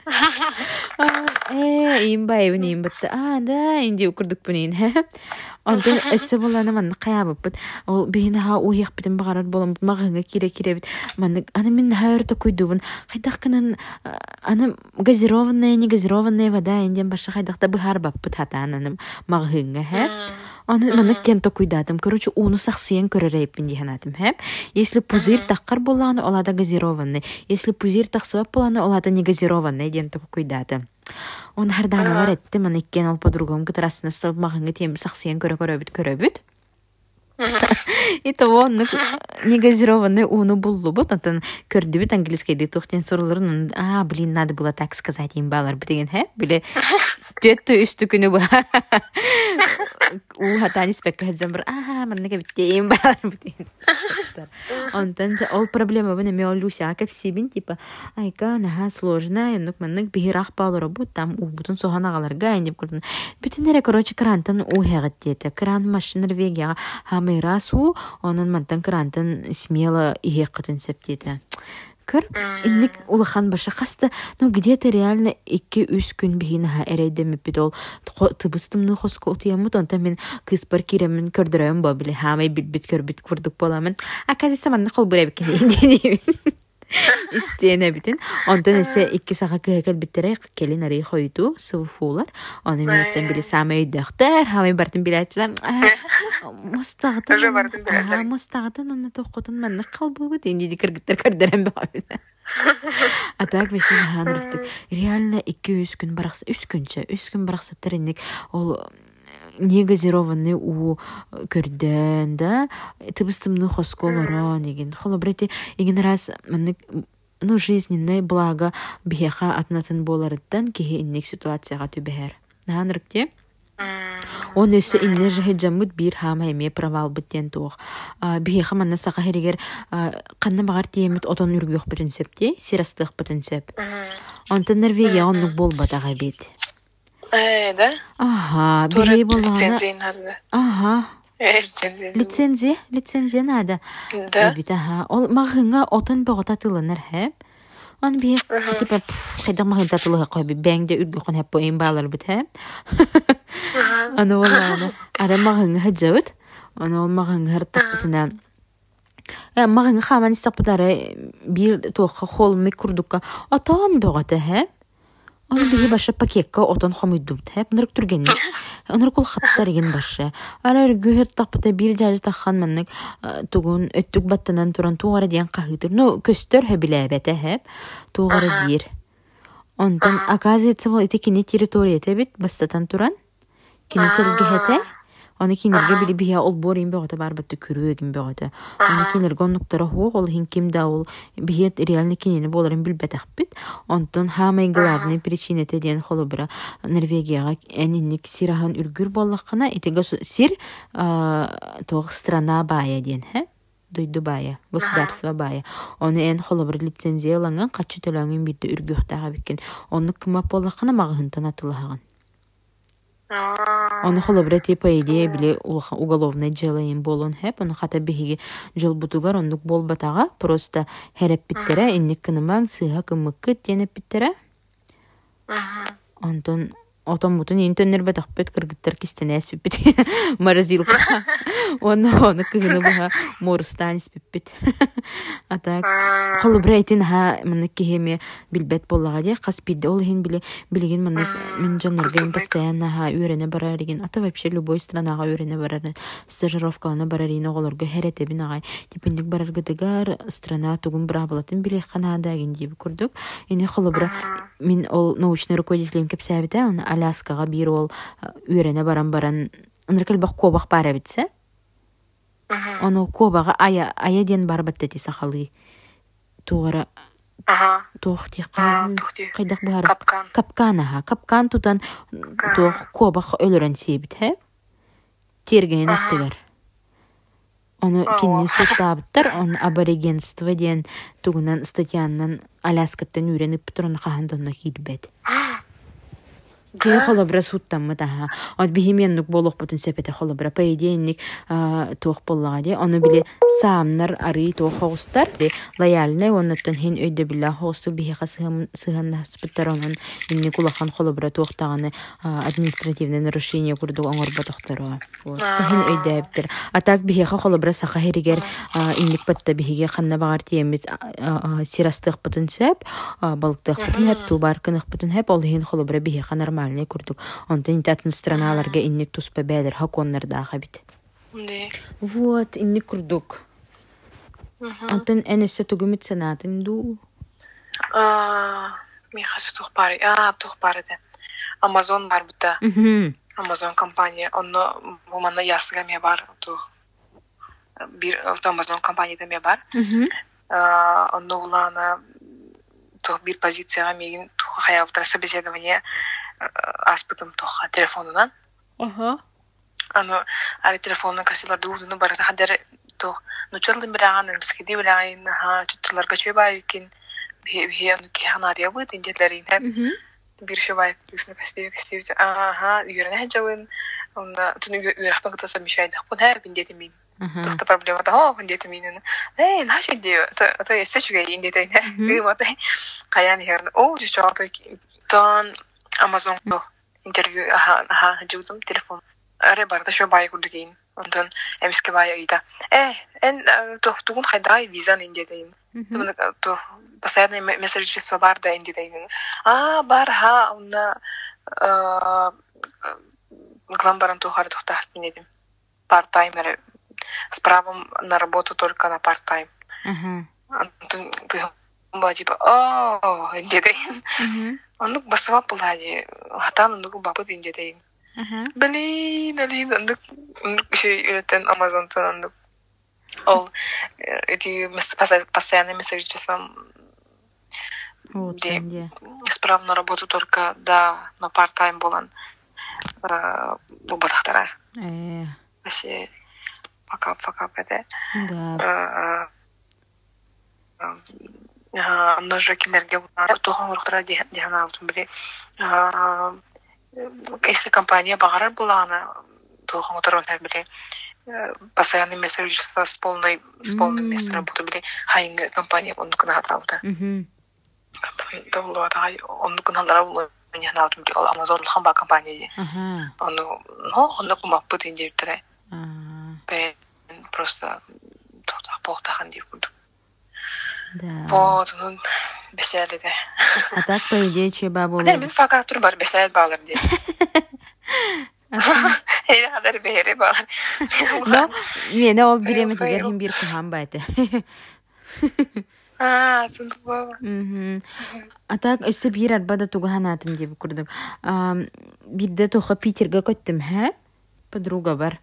Speaker 2: Имбай бін бітті. Да, инде күрдік бұнейін, хәп? Онтан өссі боланы манны қаябып бит. Ол бейіні ха уйық бітін бағарар болам бит. Мағыңа кире бит. Аны мен хайырты көйдубын. Қайдақ кінін аны газированная, не газированная вода инден башы қайдақта бұхар бап бит хата ананым мағыңа, хәп? Аны маннык кенто куйдатым. Короче, уну сахсиян көрөрейппин диханатым, хэп? Если пузырь тахкар болланы, олада газированный. Если пузырь тахсыбап болланы, олада не газированный денту куйдатым. Он хардана бар этти, маны иккен ол подругам кытарасына сылып мағыңы тем сахсиян көрөбүт. И того он негазированный уну буллубут, антон көрдүбүт английскийди тухтен суруларын, блин, надо было так сказать им балар битеген, хэ? Биле төттү үстү күнү бу. Хатани спеккадзам бар, маннеге биттейм балар битеген. Антон ол проблема бу неме олуся кепсибин типа, айка наха сложно, энук маннег бихирах балар бу там убутун соханагаларга индеп көрдүн. Бүтүнөрө короче крантан ухагат дете. Кран машина Норвегияга Хамирасу, онын мантан крантан смело иехкатын септети. Көр, инник улахан баша хаста, но где-то реально 2-3 күн бихинаха эрейдеміп бит ол тыбыстымны хоско утиямут, онта мен кыспар киремін көрдірөйім ба біле, хамай бит көрбіт көрдік боламын. Акази саманны қол бұра бікені инденеймін. Истене битин. Онтан эсе 2 саға кыһакал биттерей келин арый хойду сывыфуулар. Оны менеттен били самай дөктөр, хамай бартын билетчилер. Мустагытын.
Speaker 3: Уже бартын билетчилер.
Speaker 2: Мустагытын оны токотун манны калбугу денди кыргыттар көрдөрөн бабыда. Атак вешин ханырыктык. Реально 2-3 күн баракса, 3 күн баракса теринник ол негазированный у көрдөн да тыбыстымны хосколоро деген холобрети иген раз ну жизненное благо бихеха атнатын боларыттан кихи инник ситуацияга түбәһәр нанрыкте он өсө инне жахиджамут бир хама эме провал биттен туох бихеха манна сака херигер канна багар тиемит отон үргөх принципте сирастык принцип онтан Норвегия оннук болбатага бит.
Speaker 3: Да?
Speaker 2: Ага, бери болана.
Speaker 3: Лицензия надо.
Speaker 2: Ага. Лицензия надо.
Speaker 3: Да.
Speaker 2: Бит ага. Ол магыңа отын богота тылыныр хэп. Он би типа хайда магын татылыга койби бәңдә үргө хон хэп поин балар бит хэп. Аны болана. Ара магыңа хаҗавыт. Аны ол магыңа хартак битена. Магыңа хаман истапдары бир тоха холмы курдукка. Отон богота хэп. Оны бихи баша пакетка отон хомойдубт хэп нырык түргенни. Оныр кул хаттар еген баша. Ара үргүхер таппыта бир жажы таххан маннык тугун өттүк баттанан туран тугара диен кахытыр. Ну көстөр хөбиләбәте хэп тугара дир. Онтан оказывается бол ите кине территория тебит бастатан туран. Кине тергехете. Оны кинерге били бия ол борин бөгөтө барбытты күрөгүн бөгөтө. Оны кинерге онуктара хук ол хин кимда ол биет реально кинени боларын билбетакпит. Онтон хамай главный причина теден холобра Норвегияга энинник сирахан үргүр боллаккана итеге сир тог страна бая ден, хэ? Дойду бая, государство бая. Оны эн холобра лицензияланган качы төлөңүн бирде үргүхтага биккен. Оны кыма боллаккана магынтан атылган. Оны холобра типа идея биле уголовное дело им болон хэп, оны хата бихиги жол бутугар ондук болбатага просто хереп питтере, инник кынымаң сыга кымыккы тенеп питтере. Онтон отон бутун интөннер батакпет кыргыттар кистене эспиппит морозилка. Оны кыгыны буга морустан эспиппит. Атак холобра айтин ха мына кихеме билбет боллага де каспиде ол хин билеген мына мен жанарга постоянно ха үйрөне барар деген ата вообще любой странага үйрөне барар стажировкалана барар ин оголорго херете бинагай типиндик барарга дегар страна тугун брабалатын биле Канада ген дип көрдүк. Эне холобра мен ол научный руководителем кепсәбите он Аляскага бир ол үйрөне баран ыныркел бак кобак бара битсе. Оны кобага ая ден барбатты ти сахалы. Тугара тухти кайдак бар. Капкан тутан тух кобак өлөрөн себит, хэ? Терген аттыгар. Оны кинни суттабыттар, он аборигенство ден тугунан статьяннан Аляскаттан үйреніп тұрын қағандығына келбет. Кей холобра суттаммы таха. От бихименнук болуq бутун сепете холобра. По идейник тоқ боллаға де. Оны биле саамнар ары тоқ хоғыстар. Лояльный, оннаттан хен өйді билла хоғысту бихиға сығанна спыттар онын. Инни кулахан холобра тоқтағаны административный нарушение күрді оңыр батықтары. Хен өйді әбдір. Атак бихиға холобра сақа херигер инник батта бихиге қанна бағар тиемет сирастық бутун сеп, балықтық бутун хеп, тубаркынық бутун хеп, ол хен холобра бихиға нормально нормальный курдук. Онтон интатын страналарга инник туспа бәдер хаконнардаха бит. Вот, инник курдук. Онтон энесе тугумит санатын ду.
Speaker 3: Мен хасы тухпары. Тухпары да. Amazon бар бута. Amazon компания. Онно буманна ясыга ме бар. Bir Amazon компанияда ме бар. Онно улана bir позицияга мегин хаябытра собеседование аспытым тоха телефонунан. Аны ары телефонун кассалар дуудуну барата хадер тох нучалдын бираган эмскеди бираган чуттуларга чөбай икин бе ки ханадия бут индетлерин bir şöyle kısmı kastıyor. Yürüne hacavın. Onda tunu yürüyüşme kıtası bir şeydi. Bu her bin dedim. Tuhta problema da bin dedim. Ne şey diyor. Ta seçüge indi de ne. Bir mata kayan herne. Çok ton Amazon interview hacavdım telefon. Ara barda şöyle bayi kurduk in. Ondan emiske bayi ida. En tuğun hayday vizan indi de. То постоянные месседжества бар да инди дейин. Бар онна гламбаран тухары тухтахт минедим. Парт-таймер с правом на работу только на парт-тайм. Антон была типа, инди дейин. Ондук басыма пулади. Хатан ондук бабыт инди дейин. Блин, ондук еще üreten Amazon'tan ондук. Ол эти постоянные месседжества справа на работу только на парт-тайм болан бубатахтара. Вообще пока это. Ножа кинерге тохон урухтара дихана аутун били. Если компания багарар булана тохон уторон били. Постоянные месседжества с полным местом работы были хайнг компания он кна хаталда. Довло тай он кна ларавло не хаталда были Amazon хамба компания. Он кума путин директора. Просто похтахан директор. Вот он бесяли да.
Speaker 2: А так по идее чеба было.
Speaker 3: Да, мен факатур бар бесяли балар ди. Эйре кадар бере бар.
Speaker 2: Но мени ол биреметигер хим бир кыхан байды.
Speaker 3: Тундук баба.
Speaker 2: Атак өсө бир арбада тугаханатым деп курдук. Бирде тоха Питерге көттүм, подруга бар.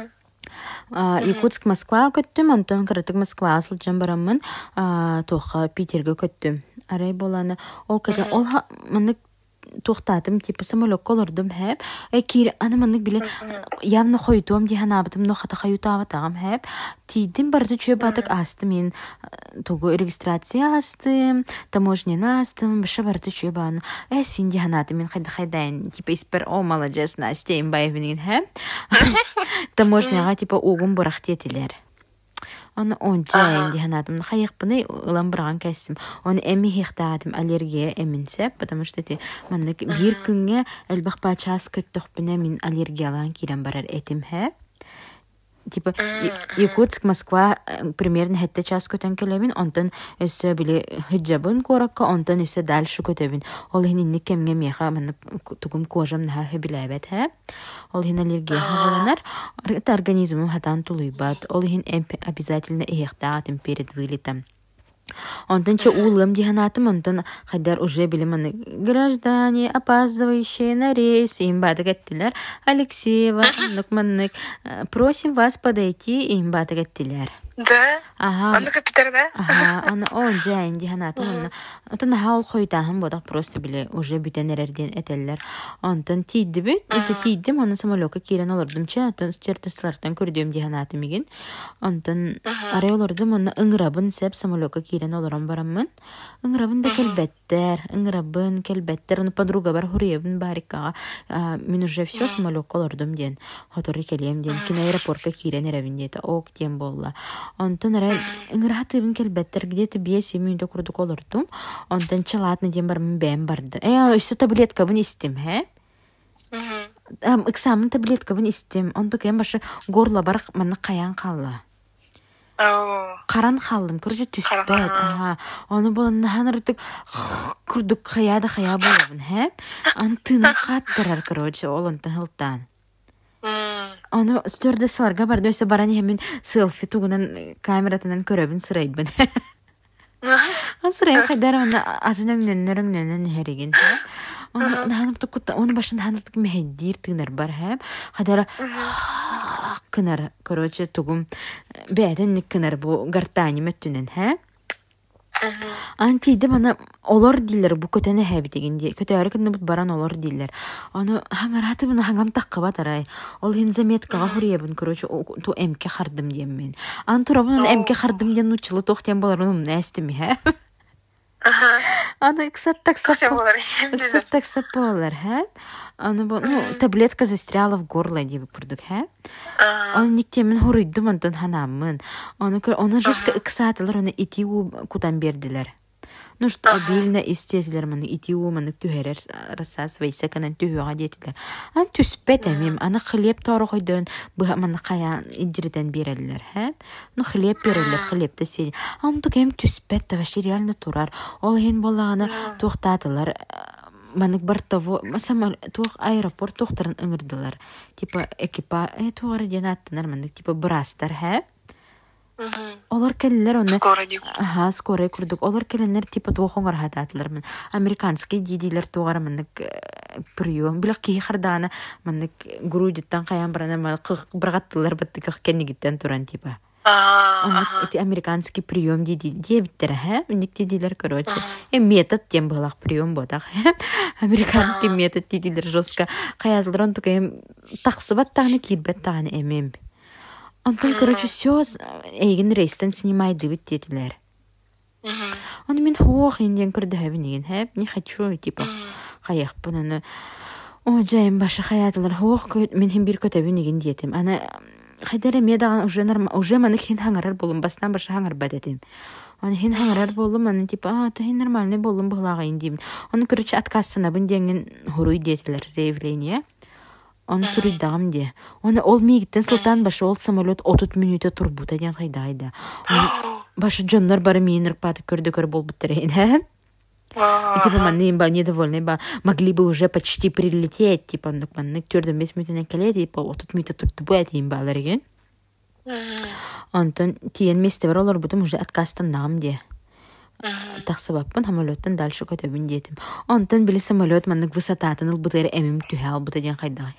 Speaker 2: Якутск, Москва көттүм, онтон кырытык Москва асылжан барамын, тоха Питерге көттүм. Арай боланы, ол када, ол мынык тухтатым, типа самолетка олордум хэп. Кир аны мынык биле явно хойдуам диханабытым, но хата хаютабатагам хэп. Тидим барды чөбатык астым, мен тугу регистрация астым, таможнена астым, баша барды чөбаны. Син диханатым, мен хайдайын, типа испер, молодец, Настя имбаевинин хэп. Таможняга типа угум бурахтетилер. Оны онча диханатым, хайықпыны ылам бұрған кәсім. Оны әмі хиқтадым аллергия әмінсеп, потому что маннык бір күнге әлбақ бачас көттіқпіне мен аллергиялан керен барар әтім хә. Типа Якутск, Москва примерно хетте час көтен келемин, онтан өсі біле хиджабын коракка, онтан өсі дальше көтөбін. Ол хининник кемге меха маннык тугум кожам наха хөбіләбет хә. Ол хин аллергия хағаланар, это организмым хатан тулуйбат. Ол хин обязательно ихтаатым перед вылетом. Онтан че улым диханатым, онтан хайдар уже билиманы граждане, опаздывающие на рейс, им бады гаттилер. Алексеева, маннык, просим вас подойти, им бады гаттилер.
Speaker 3: Да? Аны капитар, да?
Speaker 2: Аны он жайын диханатым, онтан хаул хойдахым бодақ просто биле уже бүтенерерден этеллер. Онтан тийді бүт, ити тийдім, оны самолетка кирен олырдым че, онтан чертасылардан көрдім диханатым еген. Онтан арай олырдым, оны ыңрабын сеп самолетка кирен олырам барамын. Ыңрабын да келбеттер, оны подруга бар хуребін барикаға. Мен уже все самолетка олырдым ден, хоторы келем ден, кина аэропортка кирен ерабін дейті, ок ден болла. Онтан арай ыңратыбын келбеттер, где-то 5 минутта курдук олырдым. Онтан чалатны ден бармын бәм барды. Өсі таблетка бін істем, Экзамен таблетка бін істем. Онтан кәм башы горла бар маны қаян қалла. Каран халдым, көрүчү түспөт. Аны болан ырдык курдук хаяда хая болобун, хэ? Антын каттырар, короче, олонтан хылтан. Аны стюардессаларга барды, өсө баран хемин селфи тугунан камератынан көрөбүн сырайбын. Сырайбын хайдар, аны атынан хереген, хэ? Оны башын ханымтык мехеддир тыгнар бар, хэ? Хайдара кынар, короче, тугум бәден кынар бу гартани мәттүнен, хэ? Антиде бана олар дилер бу көтөне хэби дегенде. Көтөөрү кынны бут баран олар дилер. Аны хаңараты бана хаңам таккаба тарай. Ол хин заметкага хуриябын, короче, ту эмке хардым дием мен. Антурабын эмке хардым диен учылы тохтен болар, уну нэстими, хэ? Аны ксат таксап болар, хэ? Аны бу, таблетка застряла в горло диби курдук, хэ? Аны никтемен хурыйдым антон ханамын. Аны жестко ксатылар, аны итиу кутан бердилер. Ну что обильно истетилер маны итиу маны түһәрер рассас вайса канан түһөга детилер. Ан түспет эмим, аны хлеб торы койдон бу маны каян идриден берелер, хэ? Ну хлеб берелер, хлебте сен. Ан тугем түспет та вообще реально турар. Ол хен болаганы токтатылар. Манык бартаво, самал тух аэропорт тохтарын ыңырдылар. Типа экипаж, тугары ден аттынар манык типа брастар, хэ? Олар келлер оны скорый курдук. Олар келлер типа туохоңар хататлар мен. Американский дидилер тугары манык прием. Билак ки хардана манык грудиттан каян барана манык быргаттылар баттык кеннигиттен туран типа. Эти американский прием дебиттер, хэ? Ник дидилер, короче. Метод тем былах прием ботах. Американский метод дидилер жестко. Каятылар он только таксыбат тагны кирбет тагны эмем. Антон, короче, все эйген рейстен снимайды бит дедилер. Он мен хох инден көрдөбүн деген, хэ? Не хочу, типа, каяк бунаны. О, жайым башы хаятылар хох мен хем бир көтөбүн деген диетим. Аны хайдары медаган уже маны хин хаңарар болум, бастан башы хаңар бадетим. Аны хин хаңарар болум, аны типа, то хин нормальный болум буглага индим. Оны, короче, отказ бун деген хуруй дедилер заявление. Он суриддагам де. Оны ол мигиттен сылтан башы ол самолет 30 минута турбута ден хайдайда. Башы жондар бары мейін ырпаты көрді болбуттарейн, хэ? Типа, манны ба недовольны ба, могли бы уже почти прилететь, типа, манны түрден 5 минутын келет, типа, 30 минута турду буэт им баларген. Онтон тиен месте бар олар бутым уже откастан нагам де. Тахсыбаппын самолеттен дальше көтөбүн детим. Онтон били самолет маннык высотатын ылбытыры эмим түһэ албыта ден хайдай.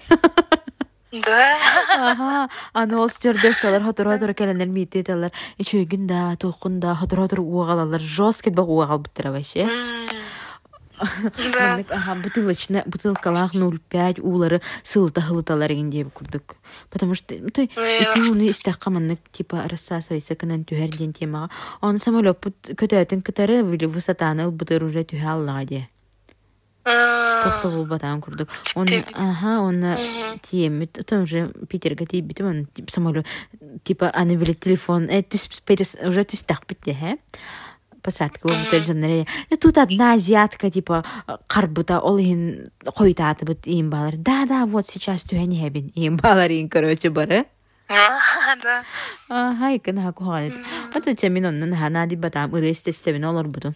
Speaker 3: Да.
Speaker 2: Аны ол стюардессалар хотор келенер миттеталар. Ичөйгүн да, тоқун да, хотор уагалалар. Жестко ба уагалбыттыра вообще. Маннык бутылкалах 0,5 улары сылыта хылыталар егендебі күрдік. Потому что эти уны истаққа маннык типа рассасывайся кынан түхерден темаға. Оны самолет көтөтін кітары высотаны ылбытыр уже түхе аллаға де. Тоқта бұл батан күрдік. Оны тиемет, это уже Питерға тейбітім, оны самолет, типа, аны білет телефон, уже түстақ бітті, хэ? Посадка болбутер жаннары. Тут одна азиатка, типа, карбута, ол ин койтаты бут им балар. Да, вот сейчас түхәне хәбин. Им балар ин, короче, бары.
Speaker 3: Да.
Speaker 2: Хайкын хаку ханет. Ата чамин оннан хана ди батам ырысты стебин олар буду.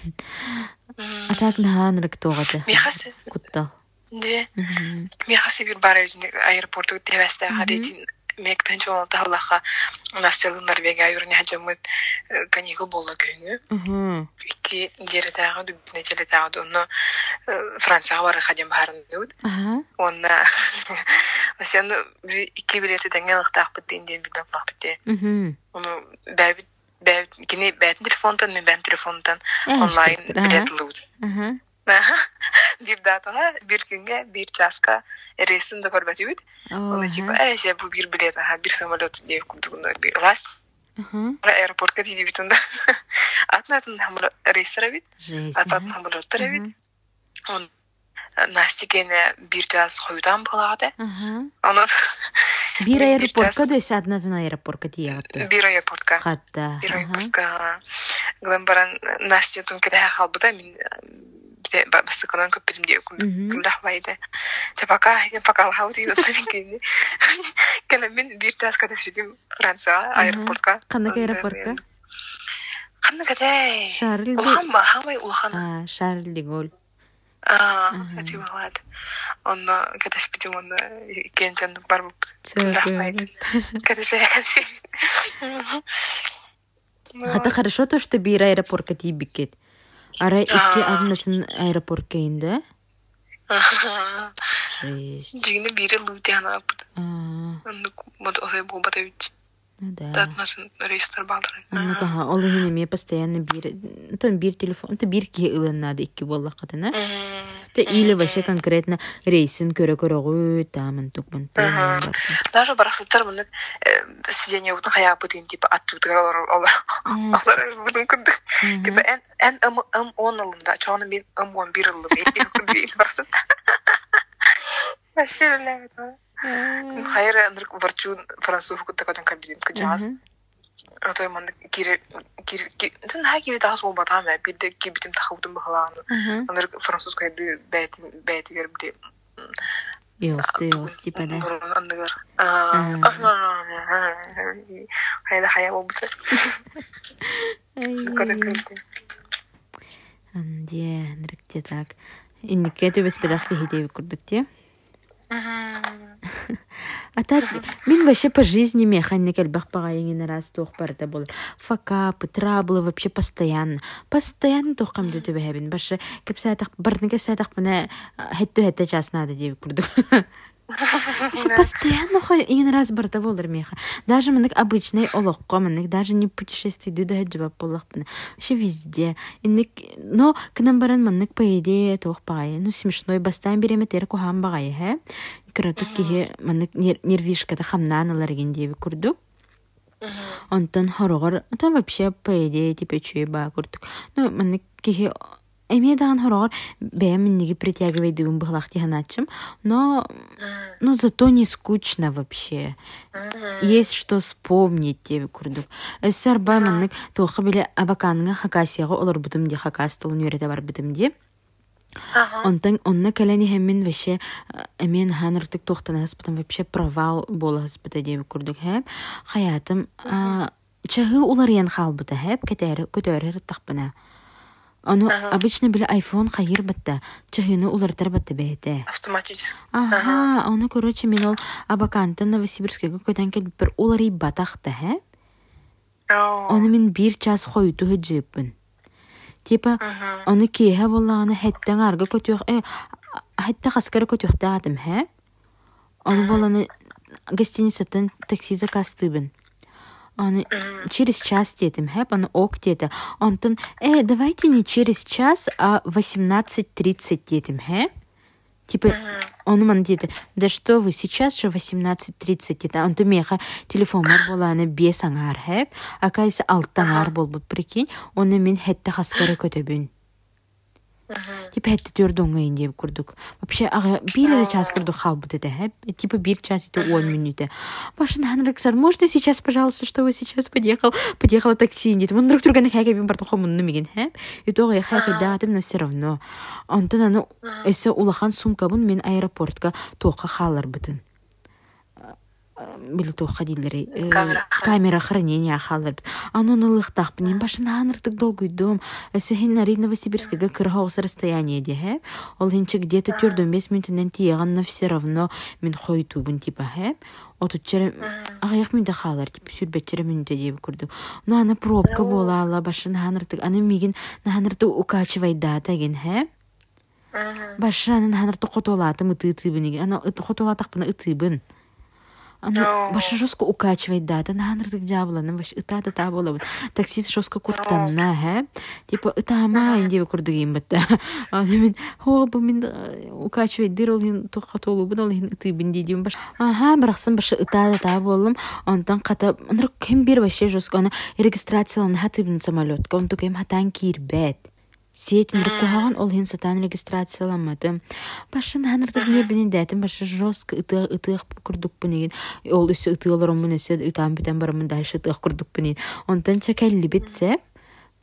Speaker 2: Атак нахан рыктоғаты.
Speaker 3: Мехасы.
Speaker 2: Куттал.
Speaker 3: Да. Мехасы бир бар аэропорту тевесте хадетин. Мектен жолы талаха Настелы Норвегия юрне хажамыт каникул болла күйүнү. Ики жеретагы дүбүнө желетагы оны Францияга бара хажам барын дүүд. Онна сен iki билети теңелыктак битенден билеп бакпыты. Оны бәбит кини бәтин телефондан мен бәм телефондан онлайн билет лүүд. Bir dataga, bir günge, bir çaska resim de görmesi bit. Onu типа, bu bir bilet, bir samolyot diye kurdukunda bir last. Aeroportka diye bitunda. Atnatın hamur reisler bit. Atatın hamurlar bit. On Настигене bir час koyudan buladı. Onu
Speaker 2: bir aeroportka da atnatın aeroportka diye.
Speaker 3: Bir aeroportka.
Speaker 2: Hatta.
Speaker 3: Bir aeroportka. Glambaran Настя тун кеде халбыда min басыкынан көппедим дие күллах байда. Чапака пакалхау дие тәмекени. Келемен бир час кадас бидим Франция аэропортка.
Speaker 2: Кандай аэропортка?
Speaker 3: Кандай кадай?
Speaker 2: Шарль.
Speaker 3: Улханма, хамай улхан.
Speaker 2: Шарль де Голь.
Speaker 3: Это молод. Он кадас бидим он кенжан бар буп. Кадас я.
Speaker 2: Хата хорошо то, что бир аэропортка тибикет. Ара икки аднатын аэропортка инде. Жесть.
Speaker 3: Жигне бири лутяна апыт. Вот осай болбата үт.
Speaker 2: Да.
Speaker 3: Татмасын рейстер балдырын.
Speaker 2: Аннага олыгыны ме постоянно бир телефон, это бир ки ылынады икки болла катына. Те или вообще конкретно рейсын көрө тамын тукмун.
Speaker 3: Даже барасыттар мына сиденье утун хая апытын типа аттыгар олар будун күндү. Типа эн 10 ылында, чоны мен 11 ылым эти күндү барасыт. Вообще левит. Хайра нырк варчун француз кутакадан кабидим кыжас. А то ман кире тун хакири тагыс болбата ма бирде кибитим тахудум бахалан. Нырк француз кайды бәйтигер бде.
Speaker 2: Ёсты типа да.
Speaker 3: Хайда хая болбута.
Speaker 2: Анде ныркте так. Иннике төбес педахты хидеви курдук те. А так, мен вообще по жизни механик альбах пагайын раз тох барда болар. Факапы, траблы вообще постоянно. Постоянно тох камды төбәһәбин. Башы кеп саатак барныга саатак менә хәтта час надо дип курдук. Вообще постоянно иң раз барда болар меха. Даже менек обычный олоққа менек даже не путешествие да хаҗба боллах менә. Вообще везде. Но к нам баран менек по идее тох пагай. Ну смешной бастан береме тер кухам багай, һә. Кратык ки менек нервишка да хамнаналар ген дип курдук. Онтон хорогор, там вообще по идее типа чуйба курдук. Ну менек ки Эмедаган хорогор бәйминниги притягивайдыгын быхлахти ханачым, но зато не скучно вообще. Есть что вспомнить тебе курдук. Эсер байманнык тоқы биле абаканыңа хакасияға олар бутым де хакас тылын үйрете бар бутым де. Онтан онна кәләни хәммин вообще әмен ханыртык тоқтаны хаспытым вообще провал болы хаспыта деп курдук хэп. Хаятым чағы олар ян халбыта хэп көтәрі тақпына. Оно обычно биле iPhone хайыр бітті. Чахыны улартар бітті бәйті.
Speaker 3: Автоматически.
Speaker 2: Оны, короче, мен ол абакантын Новосибирскеге көтен келіп бір улары батақты, хә? Оны мен 1 час қойты хүджіппін. Типа, оны кейхе болағаны хәттен арғы көтіқ, хәтті қасқары көтіқті адым, хә? Оны боланы гостиницатын такси закастыбын. Он через час дедим, хэп, он ок деда. Он тон, давайте не через час, а 18:30 дедим, хэп. Типа, он ман деда, да что вы, сейчас же 18:30 деда. Он тумеха телефон была на без ангар, хэп. А кайса алтангар бол бы, прикинь, он мен хетта хаскары көтөбүн. Типа хетта төрдөңгөйүн деп курдук. Вообще, бир час курдук халбыды да, хэп. Типа 1 час это 10 минут. Башын ханрык сад, можно сейчас, пожалуйста, что вы сейчас подъехала такси, нет. Он друг друга на хайкабин бартухом он намеген, хэп. И то я хайкадатым, но все равно. Антон, оно, эсэ улахан сумкабын мен аэропортка тоқа халар бытын. Били тоқа дилери. Камера хранения халар бытын. Ано налыхтах бынен, башын ханрыктык долгуйдум. Эсэ хин нари Новосибирскеге кырхаус расстояние де, хэп. Ол хинче где-то 4-5 минутынан тиеган, но все равно мен хойтубын, типа, хэп. Отуччары аяк минде халар, типа, сүрбетчері минуте деп көрдік. Но ана пробка бола алла, башын ханрыктык. Аны мигин ханрыктык укачывай дата ген, хэп. Башын ханрыктык хотолатым ыты-ытыбын. Ана хотолатақ бына ытыбын. Башы жестко укачивает, да, наханрдык жабыланы, баш ыта болабын. Таксист жестко курттанна, хэ? Типа, ытама инде курдыгым бітті. Мен, бу мен укачивает, дыр ол хин тоққа толубын, ол хин ыты бін дейдім баш. Бірақсын башы ыта болым, онтан қата, анрық кем бер башы жестко, ана регистрацияланы хатыбын самолетка, он тукем хатан кирбет. Сетин рукуган ол хин сатан регистрацияламады. Башын ханырдык не билин дәтим, башы жестко ытык курдук бинеген. Ол үсі ытыаларым мен өсі ытам битен барымын дальше ытык курдук бинеген. Онтан чакалли битсе,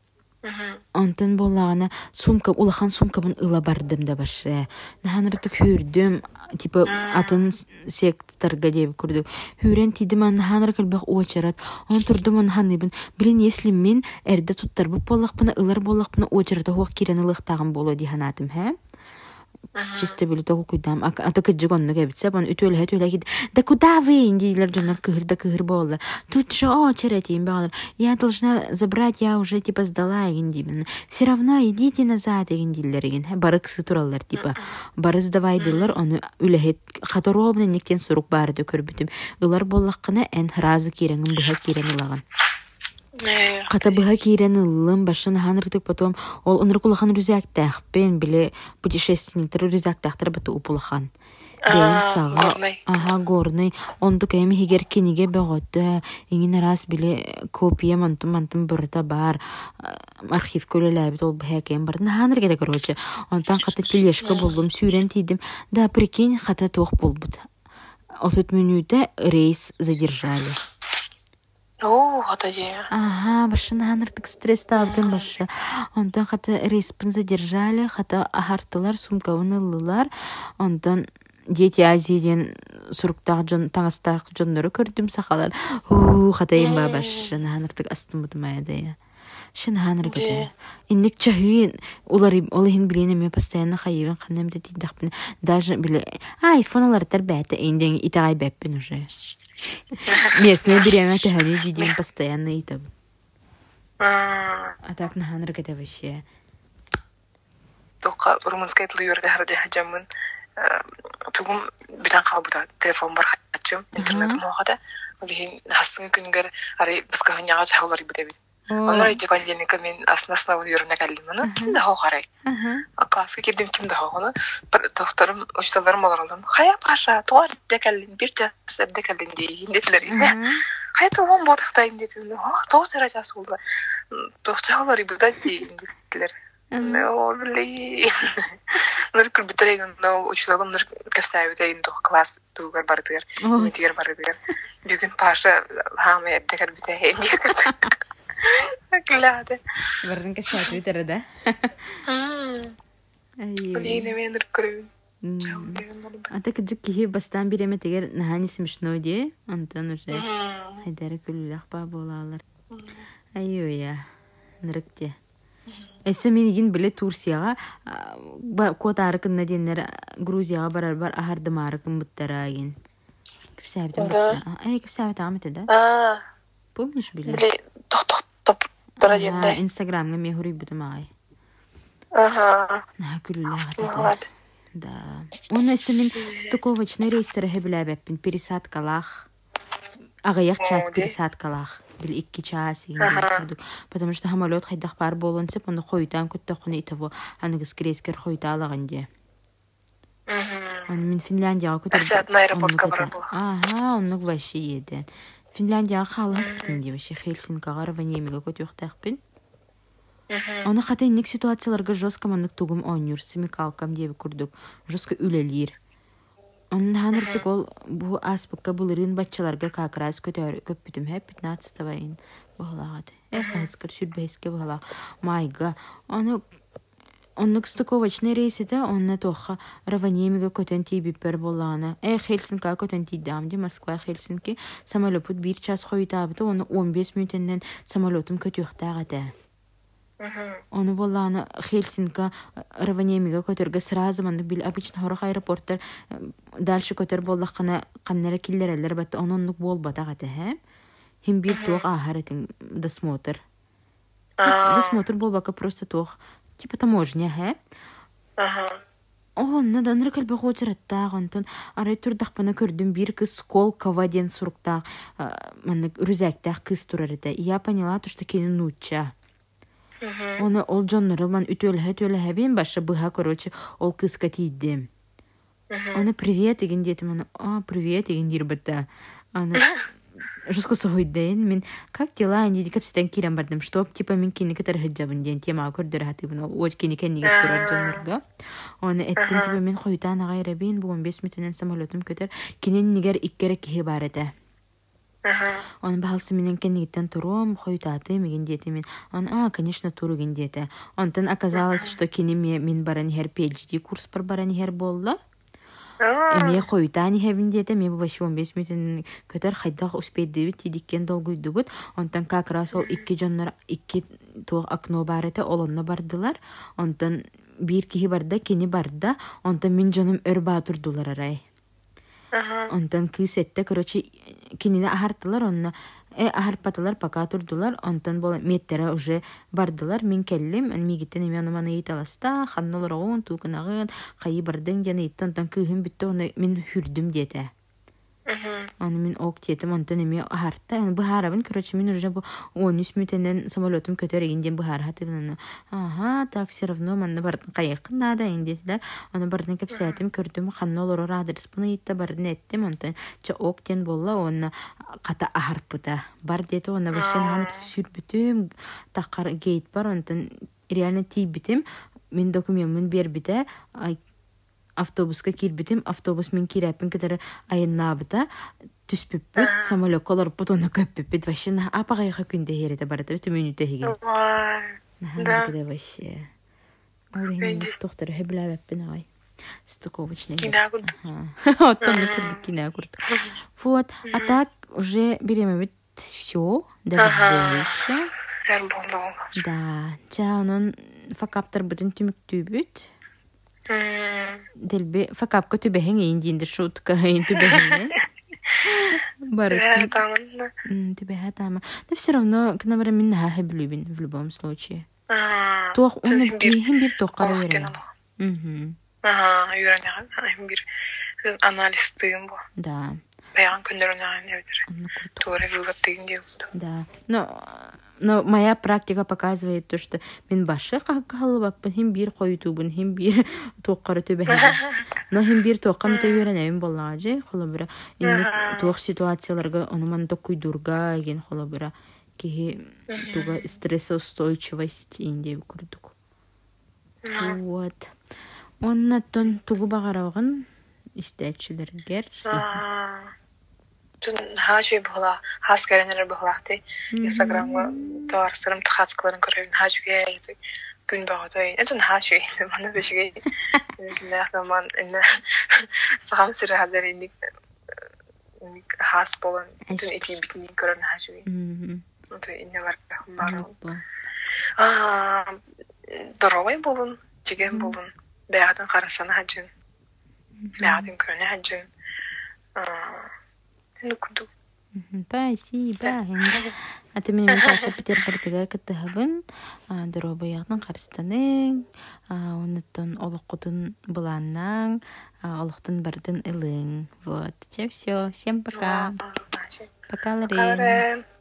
Speaker 2: Онтон боллагана сумка улахан сумкабын ыла бардым да башы. Наханыртык хүрдүм типа атын секторга деп күрдүк. Хүрен тидим наханыр калбак очарат. Он турдум наханыбын. Билин если мен эрде туттарбы боллакпына ылар боллакпына очарата хуак кирен ылыктагын боло ди ханатым, хэ? Чисто били тогу куйдам. Ата кыджыгонну кебитсе, бон ütөле кид. Да куда вы, индилер жонор кыгыр боллар. Тут же очередь им багалар. Я должна забрать, я уже типа сдала индибин. Все равно идите назад индилер иген. Барыксы тураллар типа. Бары сдавайдылар, оны үлехет хаторобна нектен сурук барды көрбүтүм. Ылар боллаккына эн разы киреңин быха кирен ылаган. Ката быха кирен ылым башын ханырдык потом ол ынрыкулахан рюзяктахпен биле путешественниктер рюзяктахтар баты упулахан. Бен сага горный онду кем хигер киниге бөгөттө иңин раз биле копия мантым бырта бар архив көлөлөбүт ол бэкем бар ханыр керек короче онтан ката тележка болдум сүйрен тидим да прикинь ката тох болбут 30 минута рейс задержали. Башына ханыртык стресс табдым башы. Онтан хата рейспін задержали, хата ахартылар, сумкавын ылылар. Онтан Дети Азияден суруктағы таңастағы жонлары көрдім сақалар. Хата емба башына ханыртык астымыдым аяды. Шын ханыр кеді. Иннік чахуин, олығын білені мен постоянно хайывын қаннамды дейдіқпін. Даже біле, айфоналар бәті эйнден итағай бәппін уже. Местные береме тәхәне дейдім постоянно итаб. Атак на ханыр кеді вообще.
Speaker 3: Тоққа румынскай тілі өрді әрді хәжамын. Тугум битан қалбыда телефон бар хатчым, интернетім оғада. Олығын хасыңы күнгер арай бізгі ғанияға жағылар ибіде бейді. Онор итепанденика мен основын үйренек әліміні кімді хау қарай. Классқа келдім кімді хау оны. Бір тоқтарым, ұшталарым олар олым. Хаят қаша, туар дек әлін, бір жас дек әлін дейін детілер. Хаят оғын бодықтайын детілер. Тоғы сәра жасы олды. Тоқча олар ибілді дейін детілер. О, білей. Нұр күрбітірейін, ұшталым нұр көпсәйбітейін тоғы класс туғар бардығар, метігер бардығар. Бүгін паша хаңы әддекер бітейін дейін. Глядя.
Speaker 2: Вардын касат витерде.
Speaker 3: Блин, я ныркаю.
Speaker 2: Ата кыдык кихи бастан биреме тегер нахани смешно де. Антон уже хайдары күллях ба болалар. Айоя. Нырыкте. Эсе менигин биле Турцияга кот арыкын денер Грузияга бар ахардым арыкын буттарагин. Кирсәбитем. Кирсәбитем амете. Помнишь биле? Инстаграмга мен хурий бутум ай. Күлләх. Да. Он эсмен стыковочный рейстер хебләбәппин пересадкалах. Агаяк час пересадкалах. Бил 2 час иңдик. Потому что самолет хайдах бар болонса, оны койдан көттөкүнө итабы. Аныгыз крейскер койдалаган де. Он мен Финляндияга көтөрүп.
Speaker 3: Аэропортка бар бул.
Speaker 2: Онук вообще еді. Финляндияға қалас бітін де вообще Хельсинкаға Раванемиға көтөқтақпен. Оны қата иннек ситуацияларға жостка мандық тугум онюрсы мекалкам дебі күрдік. Жостка үлелер. Onun hanırdık ol bu aspakka bulurun batçalarga kakraz köp bitim hep 15 bayın bağladı. Хаскар сүрбейске bağla. Майга. Оннук стыковочный рейсите онна тоха Раванемига көтен тибиппер болланы. Хельсинка көтен тидамди Москва Хельсинки самолет 1 час хойтабыты оны 15 минуттен самолетым көтөктагаты. Оны болланы Хельсинка Раванемига көтөргө сразу мында бил обычно хорох аэропорттар дальше көтөр боллаккана каннара киллерелер батты оннук болбатагаты ха. Хим бир тог ахаратың досмотр. Досмотр болбака просто тог типа таможня, хэ? Надан рыкалбы хочыраттагынтын арай турдакпана көрдүм бир кыз Сколково ден суруктак мана рюзяктак кыз турарыда. Я поняла то, что кени нуча. Оны ол жоннору ман ütөлө бен башы быха короче ол кызга тийди. Оны привет деген детим, привет деген дирбатта. Аны жестко сойден мен как дела они капстан кирам бардым чтоб типа мен кини катар хаджабын ден тема көрдөр хатыбын ол кини кенниге турар жоннорго. Оны эттим типа мен койтан гайра бен бу 15 минуттан самолетым көтөр кинен нигер иккере кихи бар эте. Он баалсы менен кенигиттен турум, хойтаты меген диети мен. Он, конечно, туруген диети. Онтан оказалось, что кенеме мен баранихер PhD курс бар баранихер болла. Эме хойтани хебин диете, мен башы 15 минутын көтөр хайдах успейді бит, тидиккен долгуйду бут. Онтан как раз ол 2 жоннар, 2 туох окно барыты, олонна бардылар. Онтан бир кихи барда, кени барда, онтан мен жоным өр баатурдулар арай. Онтан кыз этте, короче, кинине ахартылар, онна ахарпатылар, пока турдулар, онтан бол меттере уже бардылар, мен келлим, мигиттен эме аныманы италаста, ханнолорогун, тукынагын, кайы бардың жаны иттен, онтан кыгын битте, оны мен хүрдүм дете. Аны мен ок тетим, онтан эме ахарта, бухарабын, короче, мен уже 13 минутенен самолетым көтөрегенден бухархатым, так, все равно, манна бардын кайыкын нада, индетилер, аны бардын кепсетим, көрдүм, ханнолорор адрес буны итте, бардын еттим, онтан, ок тен болла, оны ката ахарпыта. Бар дети, оны башын ханы сүрбүтүм, такар гейт бар, онтан реально тийбитим, мен документмын бербите, автобуска кирбитим, автобус мен кирәпин кедер айыннабыта, түспүппүт, самолет колор бутона көппүппүт, башын апагайга күндө херете барыта, бүтү минутта хиге. Да. Кеде башы. Ол эми доктор хебләбеппин ай. Стыковочный.
Speaker 3: Кинагуд.
Speaker 2: Оттон курдук кинагурд. Вот, а так уже берем ведь все, даже больше. Да, чаунун факаптар бүтүн түмүктүүбүт. Делби факапка түбэһин индинде шутка ин түбэһин. Барык. Түбэһа тама. Но все равно к нам минна хаблюбин в любом случае. Тох он кихим бир тохкара верен.
Speaker 3: Юраняган бир анализ тыйым бу.
Speaker 2: Да.
Speaker 3: Баян көндөрүнөн эбир. Туура выводтыйын деп. Да.
Speaker 2: Но моя практика показывает то, что мен башы кахалыбаппын, хим бир койтубун, хим бир тоққары төбәһин. Но хим бир тоққа мөтәверәнәм боллажы, холобыра. Инде тоқ ситуацияларга онуман токуйдурга ген холобыра. Ки туга стрессоустойчивость инде күрдүк. Вот. Оннан тугу багарагын истәчиләргә.
Speaker 3: Хажы була, хас керенер булахты. Инстаграмга товарсырым тхацкларын көрөйүн хажыга күн багытай. Эжен хажы мана бешиге. Нахтаман эне сагам сиралар инник хас болон түн эти битни көрөн хажы. Вот эне бар бар. Дорогой болун, чеген болун. Бәядын карасана хажын. Бәядын көрөнө хажын.
Speaker 2: Спасибо. А ты меня Михаил Петербургтагар кеттехабын, дорогояғның қарыстаның, онуттан олыққутын бұланның, олықтын бардың ылың. Вот, все. Всем пока. Пока, Лорен.